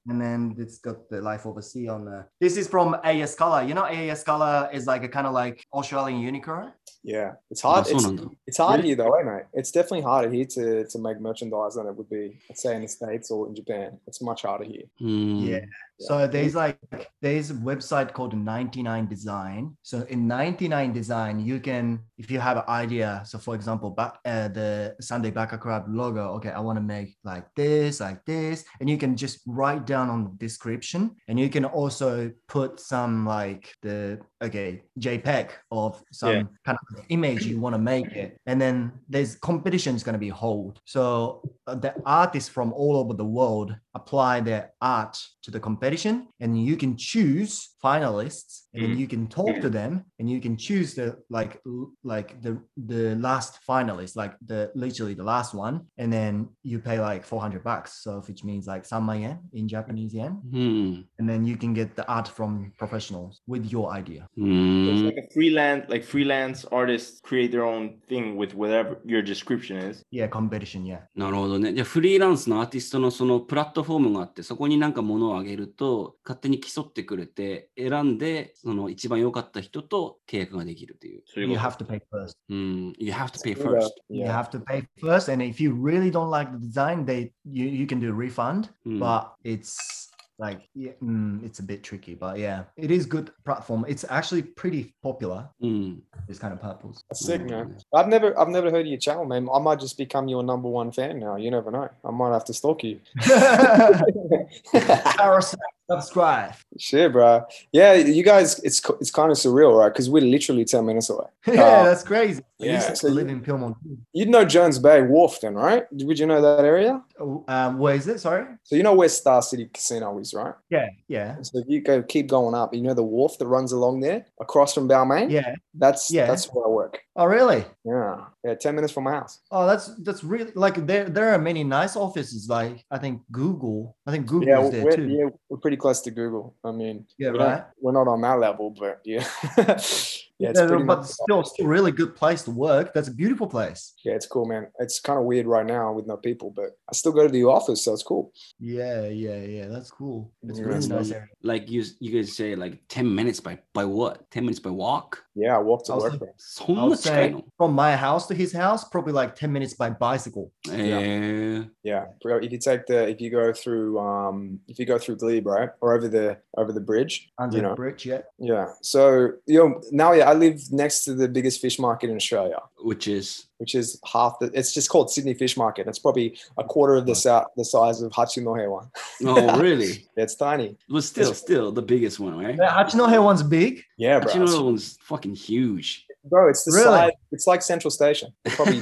And then it's got the Life Overseas on there. This is from A S Color. You know, A S Color is like a kind of like Australian unicorn. Yeah, it's hard. Ah, It's, so nanda. it's hard Really? here though, eh, mate? It's definitely harder here to, to make merchandise than it would be, let's say, in the States or in Japan. It's much harder here. うん Yeah. So there's like there's a website called ninety-nine Design. So in ninety-nine Design, you can, if you have an idea. So for example, back uh, the Sunday Baka Club logo. Okay, I want to make like this, like this, and you can just write down on the description, and you can also put some like the okay JPEG of some Yeah. kind of image you want to make it, and then there's competitions going to be held. So uh, the artists from all over the world apply their art to the competition, and you can choose finalists, and then Mhm. you can talk to them, and you can choose the like l- like the the last finalist, like the literally the last one, and then you pay like four hundred bucks, so which means like three thousand yen in Japanese yen, うん and then you can get the art from professionals with your idea. う It's ん like a freelance, like freelance artists create their own thing with whatever your description is. Yeah, competition. Yeah. なるほどね。じゃあフリーランスのアーティストのそのプラットフォームがあって、そこになんか物をあげると勝手に競ってくれて、選んでその一番良かった人と契約ができるっていう。 So you You go, have to pay first. うん。You have to pay Yeah, first. You yeah. have to pay first, and if you really don't like the design, they you, you can do refund, うん but it's like yeah, mm, it's a bit tricky. But yeah, it is good platform. It's actually pretty popular. うん。 This kind of purples. That's sick, Mm. man. I've never, I've never heard of your channel, man. I might just become your number one fan now. You never know. I might have to stalk you. Parasite, subscribe. Shit, bro. Yeah, you guys, it's co- it's kind of surreal, right? Because we're literally ten minutes away. Yeah, Uh, that's crazy. I yeah, used to so live you- in Pyrmont. You'd know Jones Bay Wharf then, right? Would you know that area? Um, where is it? Sorry. So you know where Star City Casino is, right? Yeah, yeah, So if you go keep going up, you know the wharf that runs along there across from Balmain? yeah. That's Yeah. that's where I work. Oh, really? Yeah. Yeah, ten minutes from my house. Oh, that's that's really like there. There are many nice offices. Like I think Google. I think Google Yeah, is there we're, too. yeah, we're pretty close to Google. I mean, Yeah, we don't- right. we're not on that level, but yeah. yeah, it's Yeah, pretty but much, still, still really good place to work. That's a beautiful place. yeah, it's cool, man. It's kind of weird right now with no people, but I still go to the office, so it's cool. Yeah, yeah, yeah. That's cool. It's a Yeah, really it's nice like- area. Like you, you guys say like ten minutes by, by what? ten minutes by walk? Yeah, I walk to I'll work say- there. そん I な would 近い say の from my house to his house, probably like ten minutes by bicycle. えー Yeah, bro, if you take the if you go through um if you go through Glebe, right, or over the over the bridge, Under you the know, bridge, yeah. yeah. So you know now, yeah, I live next to the biggest fish market in Australia, which is which is half the. It's just called Sydney Fish Market. It's probably a quarter of the sa- the size of Hachinohe one. oh really? Yeah, it's tiny. But still, still the biggest one, right? The Hachinohe one's big. Yeah, bro. Hachinohe one's fucking huge. Bro, it's the Really? size. It's like Central Station. It's probably.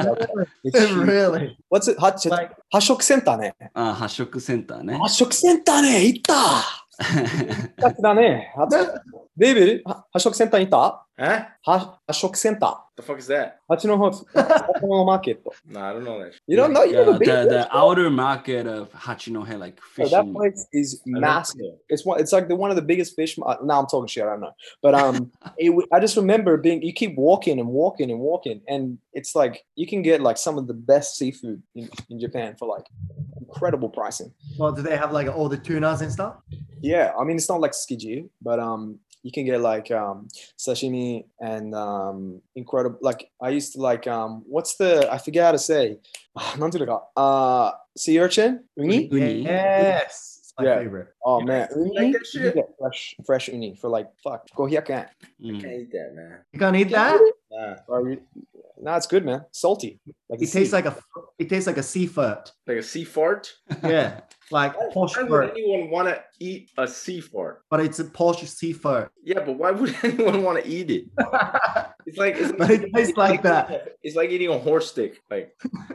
it's huge. Really? What's it? Hach- Like, 発色センターね。 あ、発色センターね。 発色センターね。行った。だだね。デイビー、は発色センターに行った Huh? は発色センタ The fuck is that? ー。八の方、八のマーケット。 No, I don't know that. You don't know? You Yeah, never been the, there? the outer market of Hachinohe, like Bro, that fishing. place is I don't massive. know. It's one. It's like the one of the biggest fish. mar- Now I'm talking shit. I don't know, but um, it, w- I just remember being. You keep walking and walking and walking, and it's like you can get like some of the best seafood in, in Japan for like incredible pricing. well, do they have like all the tunas and stuff? Yeah, I mean it's not like Tsukiji, but um, you can get like um sashimi and um incredible. Like I used to like um, what's the I forget how to say. なんていうのか Uh, sea urchin, uni. Uni? Yes. It's my Yeah. favorite. Oh You man, like uni. that You shit? get fresh, fresh uni for like fuck. Go here, can. Mm. Can't eat that, man. You can't eat that? Nah. Bro, you- nah, it's good, man. Salty. Like It tastes like a it tastes like a seafood. Like a sea fart? Yeah. Like posh Why would fur, anyone want to eat a sea fart? but it's a posh seafood. Yeah, but why would anyone want to eat it? It's like it's But it tastes like that. It's like eating a horse stick. Like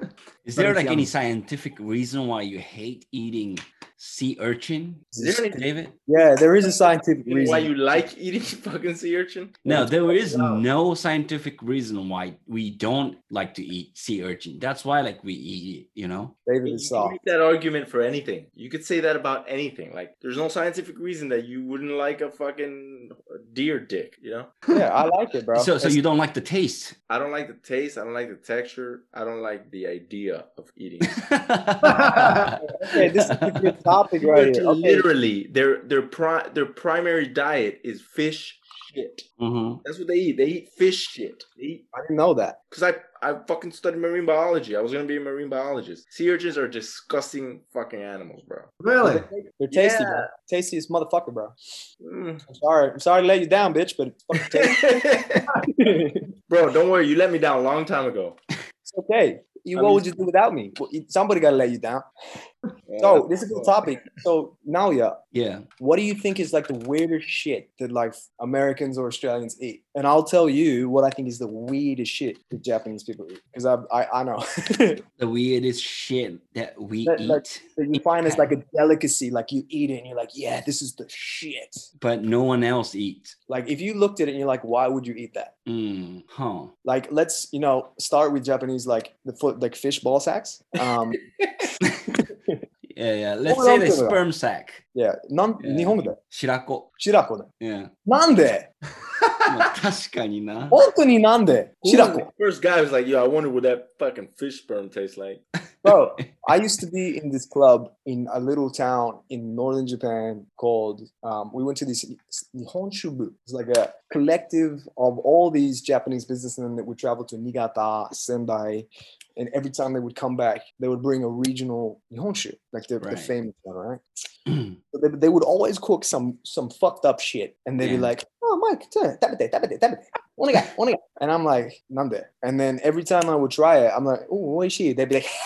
Is But there it's like any yummy. scientific reason why you hate eating sea urchin, is there any David? Yeah, there is a scientific reason reason. why you like eating fucking sea urchin? No, there is No. no scientific reason why we don't like to eat sea urchin. That's why like we eat it, you know? David You is can soft. make that argument for anything. You could say that about anything. Like, there's no scientific reason that you wouldn't like a fucking deer dick, you know? Yeah, I like it, bro. So, so It's- you don't like the taste? I don't like the taste. I don't like the texture. I don't like the idea of eating it. okay, this is a good topic right here. Okay. Literally, their their pri- their primary diet is fish shit. Mhm. That's what they eat. They eat fish shit. They eat I didn't know that. because I I fucking studied marine biology. I was gonna be a marine biologist. Sea urchins are disgusting fucking animals, bro. Really? They're tasty, Yeah. bro. Tastiest motherfucker, bro. Mm. I'm sorry. I'm sorry to let you down, bitch, but it's fucking tasty. Bro, don't worry. You let me down a long time ago. It's okay. You, I what mean- would you do without me? Well, Somebody got to let you down. So this is a good topic. So now, yeah, Yeah. what do you think is like the weirdest shit that like Americans or Australians eat? And I'll tell you what I think is the weirdest shit that Japanese people eat, because I, I I know The weirdest shit that we That- eat, that- that you find as like a delicacy. Like you eat it and you're like, yeah, this is the shit. but no one else eats. Like if you looked at it and you're like, why would you eat that? Mm, huh. Like let's you know start with Japanese like the foot like fish ball sacks. Um, Yeah, yeah. Let's Hold say on the to that. sperm sac. yeah, なん Yeah. 日本語で Shirako. 白子で Yeah. なんでまあ確かにな。 本当になんで Who 白 was 子 the first guy was like, yo, I wonder what that fucking fish sperm tastes like. Bro, I used to be in this club in a little town in northern Japan called, um, we went to this Nihon Shubu. It's like a collective of all these Japanese businessmen that would travel to Niigata, Sendai, and every time they would come back, they would bring a regional Nihonshu, like the, the Right. famous one, right? So they, they would always cook some some fucked up shit, and they'd be Yeah. like, "Oh, Mike, tabete, tabete, tabete, onegai, onegai," and I'm like, "Nande?" And then every time I would try it, I'm like, "Oh, oishii." They'd be like,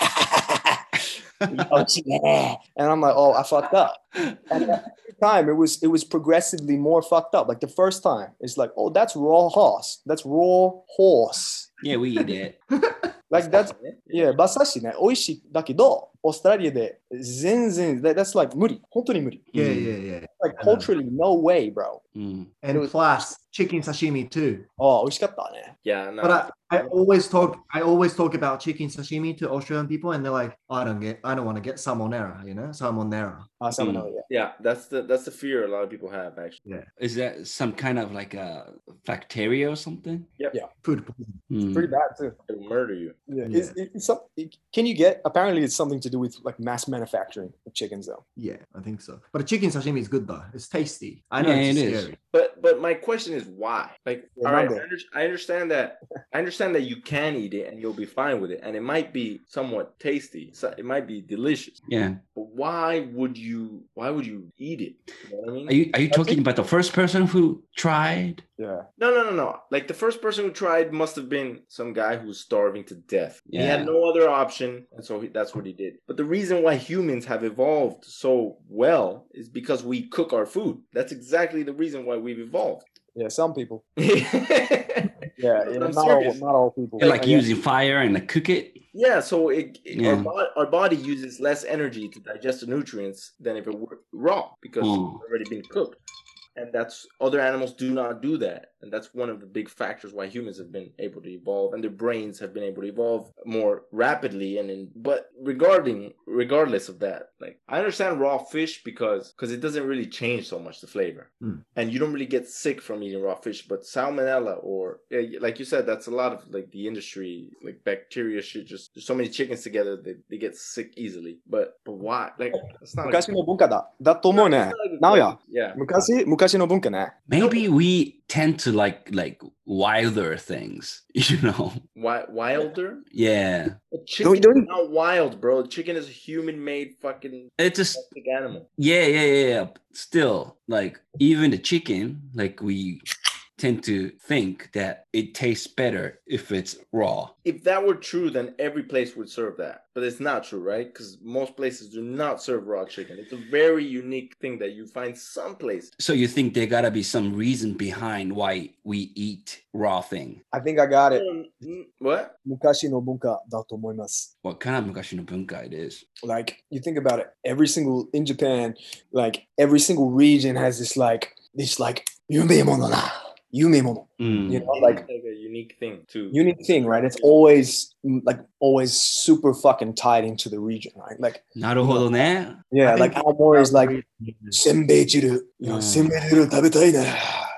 "Oishii, yeah." And I'm like, "Oh, I fucked up." And every time it was it was progressively more fucked up. Like the first time, it's like, "Oh, that's raw horse. That's raw horse." Yeah, we eat it. Like that's yeah, 馬刺しね、美味しいだけど、オーストラリアで全然 that, that's like 無理、本当に無理。 Yeah, Mm. yeah, yeah. Like I know. culturally, no way, bro. Mm. And was- plus chicken sashimi too. ああ、美味しかったね。 Yeah, no. But I, I always talk I always talk about chicken sashimi to Australian people and they're like, I don't get I don't want to get salmonella, you know, salmonella. あ、サムナyeah. yeah, that's the that's the fear a lot of people have actually. Is that some kind of like a bacteria or something? Food poisoning. Mm. Pretty bad too. It'll murder you. Yeah. Yeah. It's, it's some, it- can you get? Apparently, it's something to do with like mass manufacturing of chickens, though. Yeah, I think so. But the chicken sashimi is good though. It's tasty. I know Yeah, it's it is. scary. But but my question is why? Like, Yeah, all right, I, number. under, I understand that. I understand that you can eat it and you'll be fine with it, and it might be somewhat tasty. So it might be delicious. Yeah. But why would you? Why would you eat it? You know what I mean? Are you are you talking about the first person who tried? Yeah. No, no, no, no. Like the first person who tried must have been some guy who was starving to death. He Yeah. had no other option, and so he, that's what he did. But the reason why humans have evolved so well is because we cook our food. That's exactly the reason why we've evolved. Yeah. Some people. yeah, Yeah. But yeah I'm not all. serious. Not all people. Like Yeah. using fire and like cook it? so it, it- Yeah. Our, bo- our body uses less energy to digest the nutrients than if it were raw because Mm. it's already been cooked. And that's other animals do not do that. And that's one of the big factors why humans have been able to evolve and their brains have been able to evolve more rapidly. And in, but regarding regardless of that, like I understand raw fish because because it doesn't really change so much the flavor. Mm. And you don't really get sick from eating raw fish. But salmonella or yeah, like you said, that's a lot of like the industry, like bacteria shit. Just there's so many chickens together they, they get sick easily. But but why? Like that's not. 昔の文化だ。だと思うね。なおや。 Yeah. 昔昔の文化ね。 Maybe we tend to like like wilder things, you know? Wi- wilder? Yeah. A chicken Don't- don't- is not wild, bro. Chicken is a human-made fucking It's just domestic animal. yeah, yeah, yeah, yeah. Still, like even the chicken, like we tend to think that it tastes better if it's raw. If that were true, then every place would serve that. But it's not true, right? Because most places do not serve raw chicken. It's a very unique thing that you find some places. So you think there gotta be some reason behind why we eat raw thing? I think I got it. Mm, What? 昔の文化だと思います。 What kind of mukashi no bunka it is? Like you think about it, every single in Japan, like every single region has this like this like 夢物な。夢物. Mm. You know, like like a unique thing too. unique thing, right? It's always mm, like always super fucking tied into the region, right? Like なるほどね。 yeah, I like think- Aomori is like senbei jiru, you know, Mm. senbei jiru 食べたいな.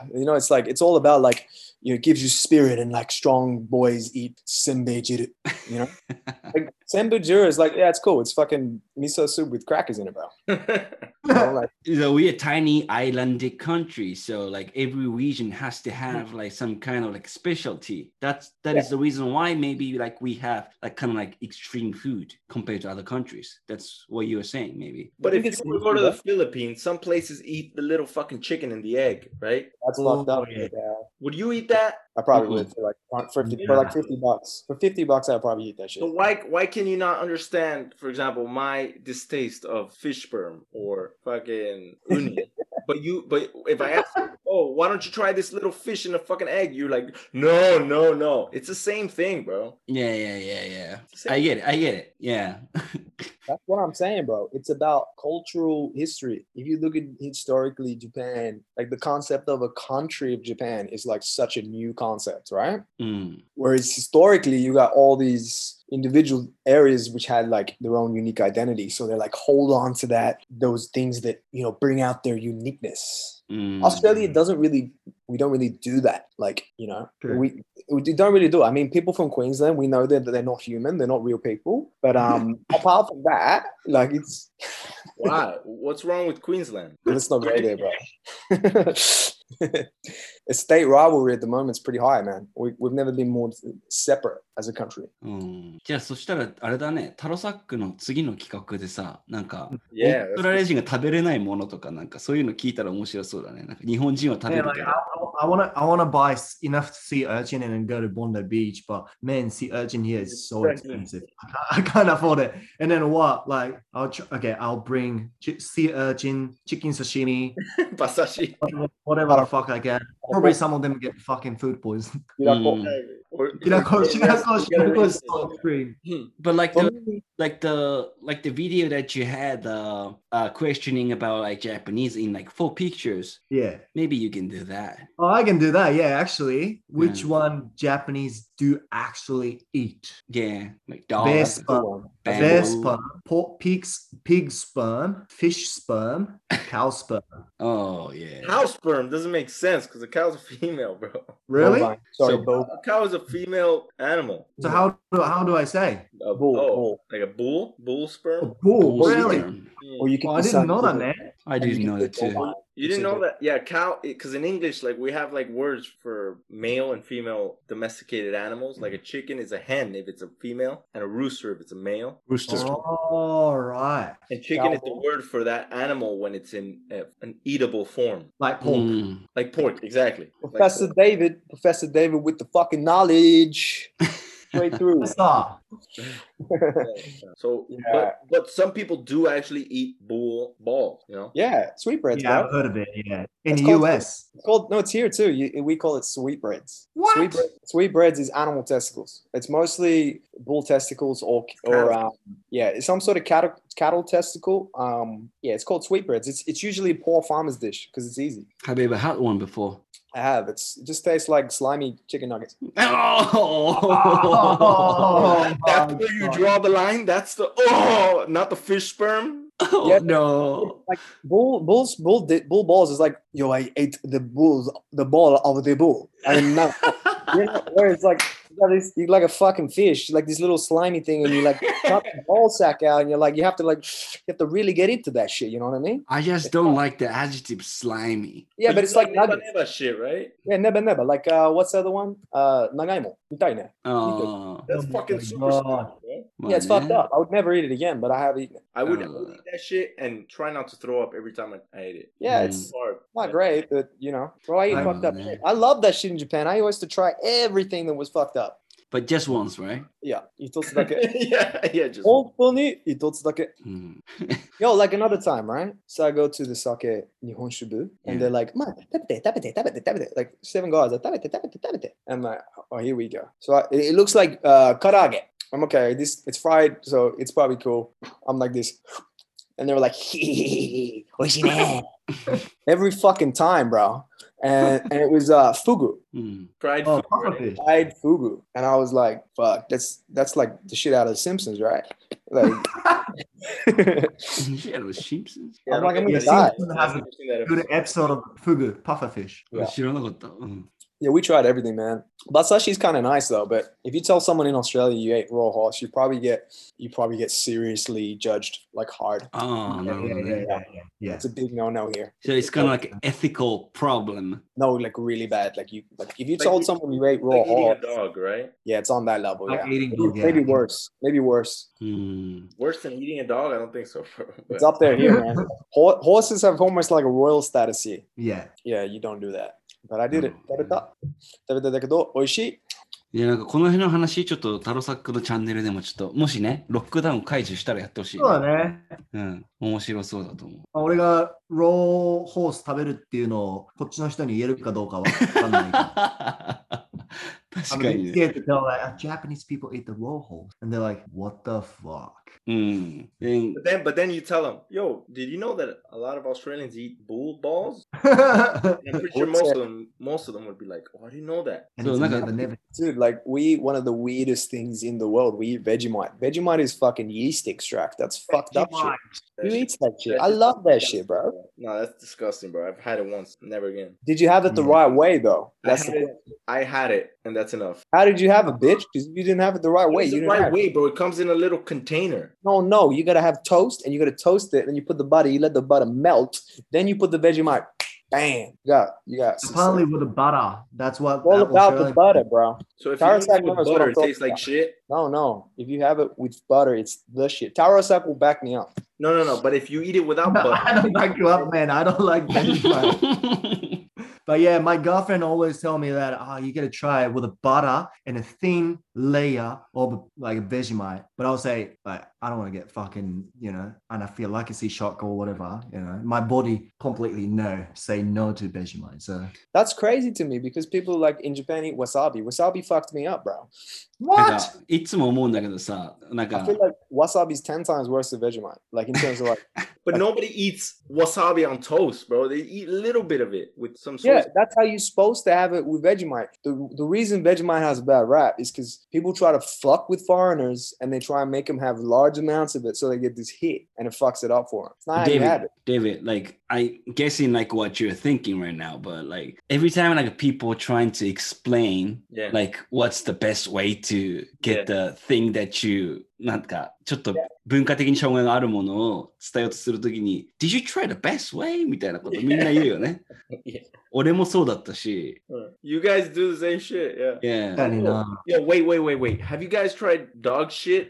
you know, it's like it's all about like, you know, it gives you spirit, and like strong boys eat senbeijiru, you know. Like senbeijiru is like, yeah, it's cool. It's fucking miso soup with crackers in it, bro. You know, like, So we're a tiny islandic country, so like every region has to have like some kind of like specialty. That's that Yeah. is the reason why maybe like we have like kind of like extreme food compared to other countries. That's what you were saying, maybe. But I if think you it's were to go to the bro. Philippines, some places eat the little fucking chicken and the egg, right? That's Oh, fucked up. yeah. Yeah. Would you eat that? I probably Mm-mm. would for like fifty Yeah. for like fifty bucks. For fifty bucks, I'd probably eat that shit. So why why can you not understand, for example, my distaste of fish sperm or fucking uni? But you, but if I ask you, oh, why don't you try this little fish in a fucking egg? You're like, no, no, no. It's the same thing, bro. Yeah, yeah, yeah, yeah. It's the same I get it. I get it. Yeah. That's what I'm saying, bro. It's about cultural history. If you look at historically Japan, like the concept of a country of Japan is like such a new concept, right? Mm. Whereas historically, you got all these individual areas which had like their own unique identity. So they're like, hold on to that, those things that, you know, bring out their uniqueness. Mm. Australia doesn't really, we don't really do that. Like, you know, True. we, we don't really do it. I mean, people from Queensland, we know that they're not human, they're not real people. But um, apart from that, like it's, Why? What's wrong with Queensland? let's not go there, bro. The state rivalry at the moment is pretty high, man. We, we've never been more separate as a country. うんじゃあそしたらあれだね、タロサックの次の企画でさ、なんか、オ Yeah, ーストラリア人が食べれないものとか、なんかそういうの聞いたら面白そうだね。なんか日本人は食べ Yeah, る like け I, ど。 I want to, I want to buy s- enough sea urchin and then go to Bondi Beach, but man, sea urchin here is so expensive. I can't, I can't afford it. And then what? Like, I'll tr- okay, I'll bring chi- sea urchin, chicken sashimi, Basashi. whatever, whatever the fuck I get. Probably some of them get fucking food poisoning. うん、 Or, Shirako, Shirako, You gotta Shirako is research so it. extreme. But like For the me, like the like the video that you had uh, uh questioning about like Japanese in like four pictures, Yeah. maybe you can do that. Oh, I can do that. Yeah, actually. Which Yeah. one Japanese do actually eat? Yeah, like dog, Bear that's a good sperm, one. bamboo. bear sperm, pork, pig's, pig sperm, fish sperm, cow sperm. Oh yeah. Cow sperm doesn't make sense because a cow's a female, bro. Really? Bovine. Sorry, So- bull. A cow is a female animal. So how do how do I say? A Bull, oh, bull. like a bull? Bull A sperm? bull, Bull really? sperm. Or you can Oh, I didn't know that, man. I didn't know that too. You didn't know that? Yeah, cow. Because in English, like we have like words for male and female domesticated animals. Like a chicken is a hen if it's a female, and a rooster if it's a male. Rooster. All right. And chicken is the Cow. word for that animal when it's in uh, an eatable form, Like pork. Mm. like pork. Exactly. Like Professor pork. David, Professor David with the fucking knowledge. Straight through. Star. So, Yeah. but, but some people do actually eat bull balls. You know. Yeah, sweetbreads, Yeah, bro. I've heard of it. Yeah. In It's the called- U S. It's called, no, it's here too. You, we call it sweetbreads. What? Sweetbread, sweetbreads is animal testicles. It's mostly bull testicles or or Cattle. um, yeah, it's some sort of cattle cattle testicle. Um, yeah, it's called sweetbreads. It's it's usually a poor farmer's dish because it's easy. Have you ever had one before? I have. It's it just tastes like slimy chicken nuggets. Oh, Oh, That's my where you God. draw the line. That's the oh, not the fish sperm. oh Yeah. no. Like bull bulls bull di- bull balls is like, yo, I ate the bulls the ball of the bull. And now you know, where it's like you got this, you like a fucking fish, like this little slimy thing, and you like cut the ball sack out, and you're like, you have to like, you have to really get into that shit. You know what I mean? I just don't like the adjective slimy. Yeah, but it's like neba nuggets. neba shit, right? Yeah, neba neba. Like uh, what's the other one? Uh, nagaimo. Mitai ne. Oh, That's Oh fucking my super God. stupid, bro. Yeah, it's fucked up. I would never eat it again, but I have eaten it. I would, I Uh. would eat that shit and try not to throw up every time I, I ate it. Yeah, Mm. it's Hard. not great, but you know, bro, I eat I fucked don't up know. shit. I love that shit in Japan. I used to try everything that was fucked up. But just once, right? Yeah, itotsu dake. yeah, yeah, just Hontou itotsu dake. Mm. Yo, like another time, right? So I go to the sake Nihon Shibu, and Yeah. they're like, "Man, tabete, tabete, tabete, tabete." Like seven guys, like, "Tabete, tabete, tabete." I'm like, "Oh, here we go." So I, it it looks like uh, karage. I'm okay. This it's fried, so it's probably cool. I'm like this, and they were like, "Oishii ne." Every fucking time, bro. and and it was uh fugu, うん。 Fried Oh, food. right? pufferfish. fried fugu, and I was like, "Fuck, that's that's like the shit out of The Simpsons, right?" Like, Yeah, it was Simpsons. Yeah, I I'm don't like, I'm get gonna Yeah, that. die. Simpsons I've has a never seen that good episode. episode of fugu, pufferfish. Yeah. 知らなかった。うん。 Yeah, we tried everything, man. But sashi's kind of nice though. But if you tell someone in Australia you ate raw horse, you probably get you probably get seriously judged like hard. ああ、なるほ Yeah, ど yeah, ね。 yeah, yeah, yeah. It's a big no-no here. So it's kind of like an ethical problem. No, like really bad. Like you, like if you Like told eat- someone you ate raw Like eating a horse, dog, right? yeah, it's on that level. Like Yeah, eating maybe, dog, yeah. maybe worse. Maybe worse. うん。 Worse than eating a dog? I don't think so. Bro. But- It's up there here, man. Ho- horses have almost like a royal status here. Yeah. Yeah, you don't do that. But I did it. うん。 食べた。食べただけど、美味しい。 いや、なんかこの辺の話、ちょっとタロサックのチャンネルでもちょっと、もしね、ロックダウン解除したらやってほしい、 そうだね。 うん。面白そうだと思う。 俺がローホース食べるっていうのをこっちの人に言えるかどうかは分かんないけど。 確か I'm にね。 scared to tell like "Ah, Japanese people eat the raw horse, and they're like, "What the fuck?" うん。で But then, but then you tell them, yo, did you know that a lot of Australians eat bull balls? and And I'm pretty sure most of them, most of them would be like, oh, I didn't know that. it's So, a like a- never, never. Dude, like we eat one of the weirdest things in the world. We eat Vegemite. Vegemite is fucking yeast extract. That's fucked up shit. That Who shit- eats that shit? that I shit's love that disgusting, shit, bro. No, that's disgusting, bro. I've had it once, never again. Did you have it the Yeah. right way though? I That's had, the it, I had it, and that's enough. How did you have it, bitch? Because you didn't have it the right way. It's You the didn't right have it. way, bro. It comes in a little container. No, no. You gotta have toast, and you gotta toast it, and you put the butter. You let the butter melt. Then you put the Vegemite. Bam. You got, you got. Apparently with the butter, that's what. all that about the Australian- butter, bro. So if Taro you eat it sack with knows what butter, I'm it talking tastes like about. shit. No, no. If you have it with butter, it's the shit. Taro Sack will back me up. No, no, no. But if you eat it without I butter, don't back you up, man. I don't like Vegemite. But yeah, my girlfriend always tell me that oh, you gotta try it with a butter and a thin layer of like a Vegemite. But I'll say like I don't want to get fucking you know anaphylactic shock or whatever. You know, my body completely no say no to Vegemite. So That's crazy to me because people like in Japan eat wasabi. Wasabi fucked me up, bro. なん what? かいつも思うんだけどさ、なん I か feel like wasabi is ten times worse than Vegemite. Like in terms of like, but nobody eats wasabi on toast, bro. They eat a little bit of it with some yeah, sauce. that's how you're supposed to have it with Vegemite. The the reason Vegemite has a bad rap is because people try to fuck with foreigners and they try and make them have large amounts of it so they get this hit and it fucks it up for them. It's not how you have David, it. David, like I guessing like what you're thinking right now, but like every time like people trying to explain Yeah. like what's the best way to get the thing that you なんかちょっと文化的に障害があるものを伝えようとするときに Did you try the best way? みたいなことみんな言うよね。 Yeah. 俺もそうだったし。 You guys do the same shit, yeah. Yeah. 確かにな Yo, wait, wait, wait, wait. Have you guys tried dog shit?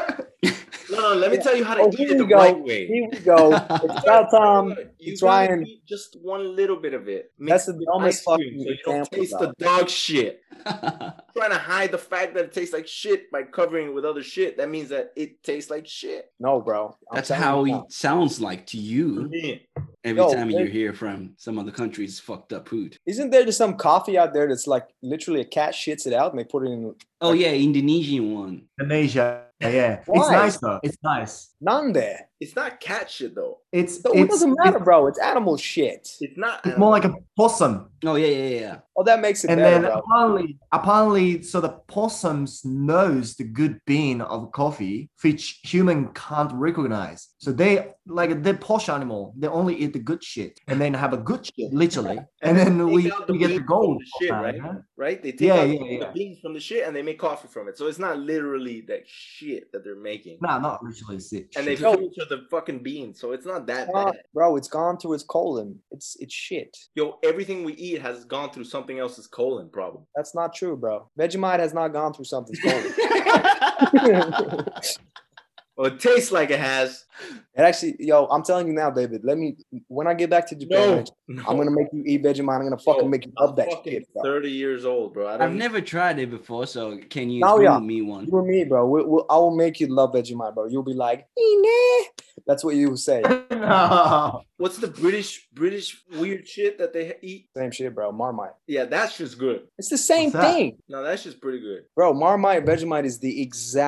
No, no, let me tell you how to Oh, eat here it the we go. right way. Here we go. It's about time. You try gotta and- eat just one little bit of it. That's Mix the it with dumbest ice cream fucking so you don't example, taste bro. the dog shit. Trying to hide the fact that it tastes like shit by covering it with other shit. That means that it tastes like shit. No, bro. I'm That's telling how you it now. sounds like to you Yeah. every Yo, time you wait. hear from some other country's fucked up food. Isn't there just some coffee out there that's like literally a cat shits it out and they put it in? Oh yeah, Indonesian one. Indonesia. Yeah, it's Why? nice though. It's nice. Nande. It's not cat shit though. It's So it it's, doesn't matter, it's, bro. It's animal shit. It's not. it's more like a possum. Oh yeah, yeah, yeah. Oh, that makes it And better, then bro. apparently, apparently, so the possums knows the good bean of coffee, which human can't recognize. So they like the posh animal. They only eat the good shit, and then have a good shit, literally. And then Take we, out the we get the beans gold. from the shit, uh, right? huh? Right? They take Yeah, out yeah, the, yeah. the beans from the shit and they make coffee from it. So it's not literally that shit that they're making. Nah, not literally sick. And they shit. filter the fucking beans, so it's not that Uh, bad. bro, it's gone through its colon. It's it's shit. Yo, everything we eat has gone through something else's colon, problem. That's not true, bro. Vegemite has not gone through something's colon. Well, it tastes like it has. It actually, yo, I'm telling you now, David. Let me when I get back to Japan, No, I'm gonna make you eat Vegemite. I'm gonna fucking Yo, make you I'm love that fucking shit, bro. thirty years old, bro. I don't I've never tried it before, so can you Now, bring yeah. me one? You and me, bro. We, we, I will make you love Vegemite, bro. You'll be like, "Ine." That's what you will say. No. What's the British British weird shit that they eat? Same shit, bro. Marmite. Yeah, that's just good. It's the same What's that? thing, No, that's just pretty good. bro. Marmite, Vegemite is the exact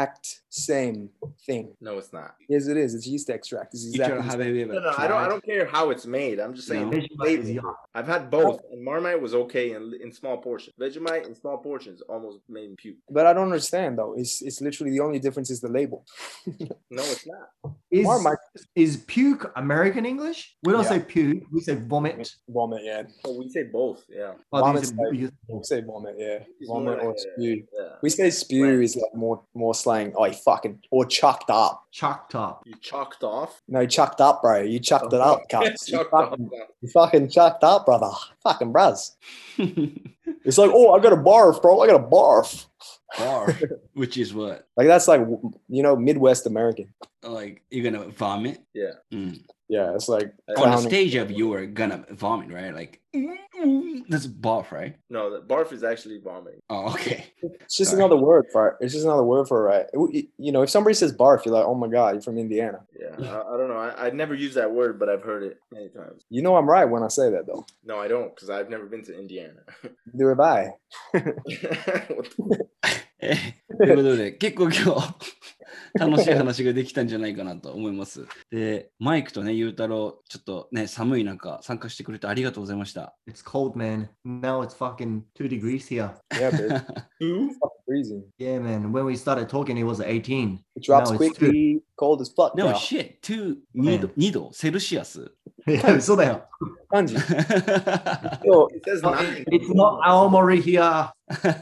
same thing. No, it's not. Yes, it is. It's yeast extract. It's exactly. Ichiro, have you ever No, no, I tried? don't. I don't care how it's made. I'm just saying. No. the Vegemite is flavor. yuck. I've had both, and Marmite was okay in in small portions. Vegemite in small portions almost made me puke. But I don't understand though. It's it's literally the only difference is the label. No, it's not. Is, Marmite. is puke American English? We don't Yeah. say puke, we say vomit. Vomit, yeah. Oh, we say both. Yeah. Oh, do you Vomit's say- like- you say We both? say vomit, yeah. It's Vomit more or like a- spew. Yeah. We say spew Right. is like more more slang. Oh, you fucking or chucked up. Chalked up. You chalked off. No, you chucked up, bro. You chucked it up, cuz. You, Chalked off. fucking- you fucking chucked up, brother. Fucking bros. It's like, oh, I got a barf, bro. I got a barf. Bar, which is what? Like that's like you know Midwest American. Like you're gonna vomit? Yeah. Mm. Yeah, it's like On On the clowning. stage of you were gonna vomit, right? Like that's barf, right? No, the barf is actually vomiting. Oh, okay. It's just Sorry. another word for it. It's just another word for it, right? It- you know, if somebody says barf, you're like, oh my god, you're from Indiana. Yeah. I, I don't know. I, I never use that word, but I've heard it many times. You know I'm right when I say that though. No, I don't, because I've never been to Indiana. Neither have I. What the- えということで、結構今日楽しい話ができたんじゃないかなと思います。で、マイクとね、ゆうたろう、ちょっとね、寒い中参加してくれてありがとうございました。 It's cold, man. Now it's fucking two degrees here. Yeah, bitch. Who? Fucking freezing. Yeah, man. When we started talking, it was eighteen. It drops Now it's quickly, cold as fuck. No now. shit, に度、に度、セルシアス。 いや、そうだよ。 Kanji. よ So, It says nine. It's not Aomori here. yeah,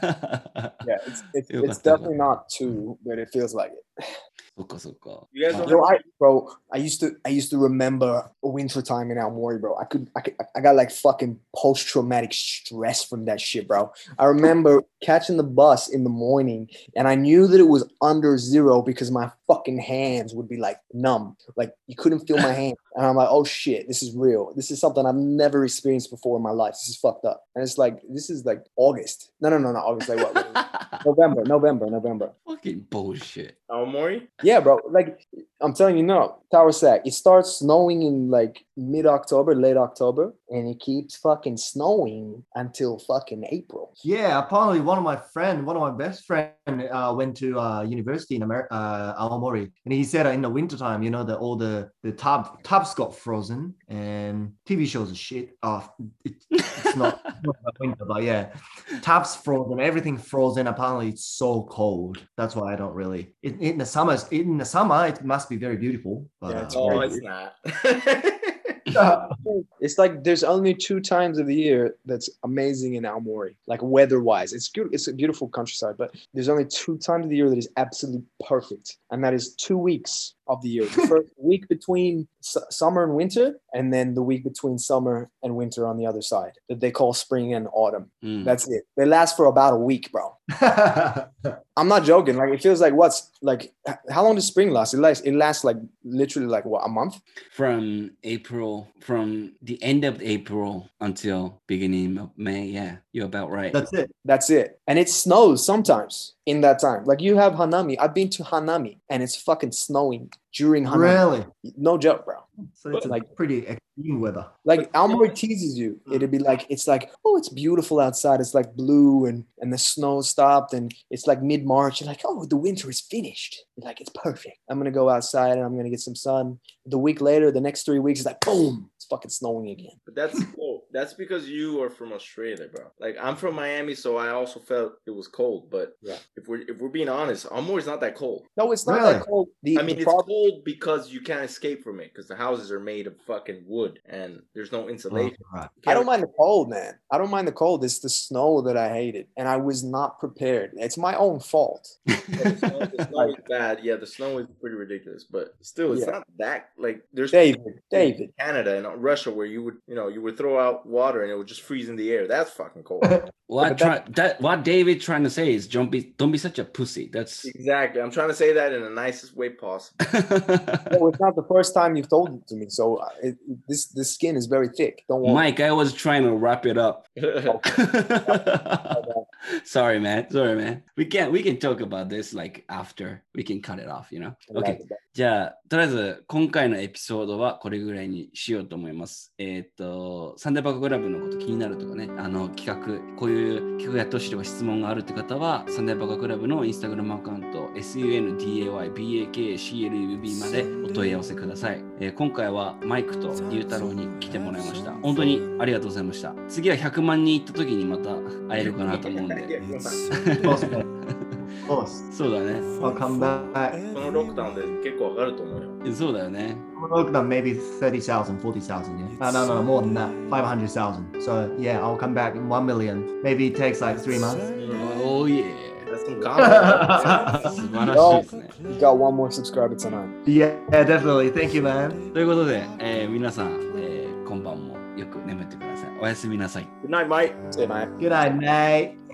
it's, it's, Yo, it's got that definitely not two, but it feels like it. そっかそっか。 You guys don't Yo, I, bro, I used to, I used to remember winter time in Aomori, bro. I could, I could, I got like fucking post traumatic stress from that shit, bro. I remember catching the bus in the morning, and I knew that it was under zero because my fucking hands would be like numb, like you couldn't feel my hand, and I'm like, oh shit, this is real. This is something I've never experienced before in my life. This is fucked up, and it's like this is like August. No, no, no, no. August, like what? November, November, November. Fucking bullshit. Aomori? Yeah, bro. Like I'm telling you, no, Tower Sack. It starts snowing in like mid October, late October, and it keeps fucking snowing until fucking April. Yeah, apparently one of my friend, one of my best friend, uh, went to uh, university in America, uh, Aomori, and he said uh, in the wintertime, you know, that all the the tub tubs got frozen, and T V shows are shit. Oh, it, it's not, it's not about winter, but yeah, tubs frozen, everything frozen. Apparently, it's so cold. That's why I don't really. In, in the summers, in the summer, it must be very beautiful. But, Yeah, it's uh, Oh, great. it's not. It's like there's only two times of the year that's amazing in Aomori, like weather-wise. It's good. It's a beautiful countryside, but there's only two times of the year that is absolutely perfect, and that is two weeks of the year. The first week between su- summer and winter, and then the week between summer and winter on the other side that they call spring and autumn. うん。 That's it. They last for about a week, bro. I'm not joking. Like it feels like what's like h- how long does spring last? It lasts it lasts like literally like what, a month? From April, from the end of April until beginning of May. Yeah, you're about right. That's it. That's it. And it snows sometimes in that time. Like you have Hanami. I've been to Hanami and it's fucking snowing during Hanami. Really? No joke, bro. So it's Like- like pretty extreme weather. Like Aomori teases you. It'd be like it's like, oh, it's beautiful outside. It's like blue and and the snow stopped and it's like mid-March. You're like, oh, the winter is finished. You're like, it's perfect. I'm gonna go outside and I'm gonna get some sun. The week later, the next three weeks, it's like boom, it's fucking snowing again. But that's cool. That's because you are from Australia, bro. Like I'm from Miami, so I also felt it was cold. But Yeah. if we're if we're being honest, Aomori's not that cold. No, it's not Really? that cold. The, I mean, the it's problem- cold because you can't escape from it because the houses are made of fucking wood and there's no insulation. Right. You I don't can't- mind the cold, man. I don't mind the cold. It's the snow that I hated, and I was not prepared. It's my own fault. Yeah, the snow, the snow is bad. Yeah, the snow is pretty ridiculous, but still, it's Yeah. not that like there's David, David. Canada and Russia where you would you know you would throw out water and it would just freeze in the air. That's fucking cold. What But try, that what David trying to say is don't be don't be such a pussy. That's Exactly. I'm trying to say that in the nicest way possible. Well, it's not the first time you've told it to me, so uh, it, this this skin is very thick. Don't worry. Mike, I was trying to wrap it up. Sorry, man. Sorry, man. We can we can talk about this like after. We can cut it off, you know. Okay. じゃあ、とりあえず今回のエピソードはこれぐらいにしようと思います。 思います。えー、っと、サンデーバカクラブのこと気になるとかね、あの企画、こういう企画やってほしいとか質問があるって方は、サンデーバカクラブのインスタグラムアカウント、エスユーエヌディーエーワイビーエーケーシーエルユービー までお問い合わせください。えー、今回はマイクとゆうたろうに来てもらいました。本当にありがとうございました。次はひゃくまん人行った時にまた会えるかなと思うんで。そうだね。 I'll come back. このロックダウンで結構上がると思うよ。 そうだよね。 Look, maybe thirty thousand, forty thousand, yeah. No, no, no, more than that. five hundred thousand. So, yeah, I'll come back in one million. Maybe it takes like three months. Oh, yeah. That's some confidence. 素晴らしいですね。 You got one more subscriber tonight. Yeah, definitely. Thank you, man. ということで、えー、皆さん、えー、今晩もよく眠ってください。おやすみなさい。 Good night, Mike. See you, mate. Good night, mate.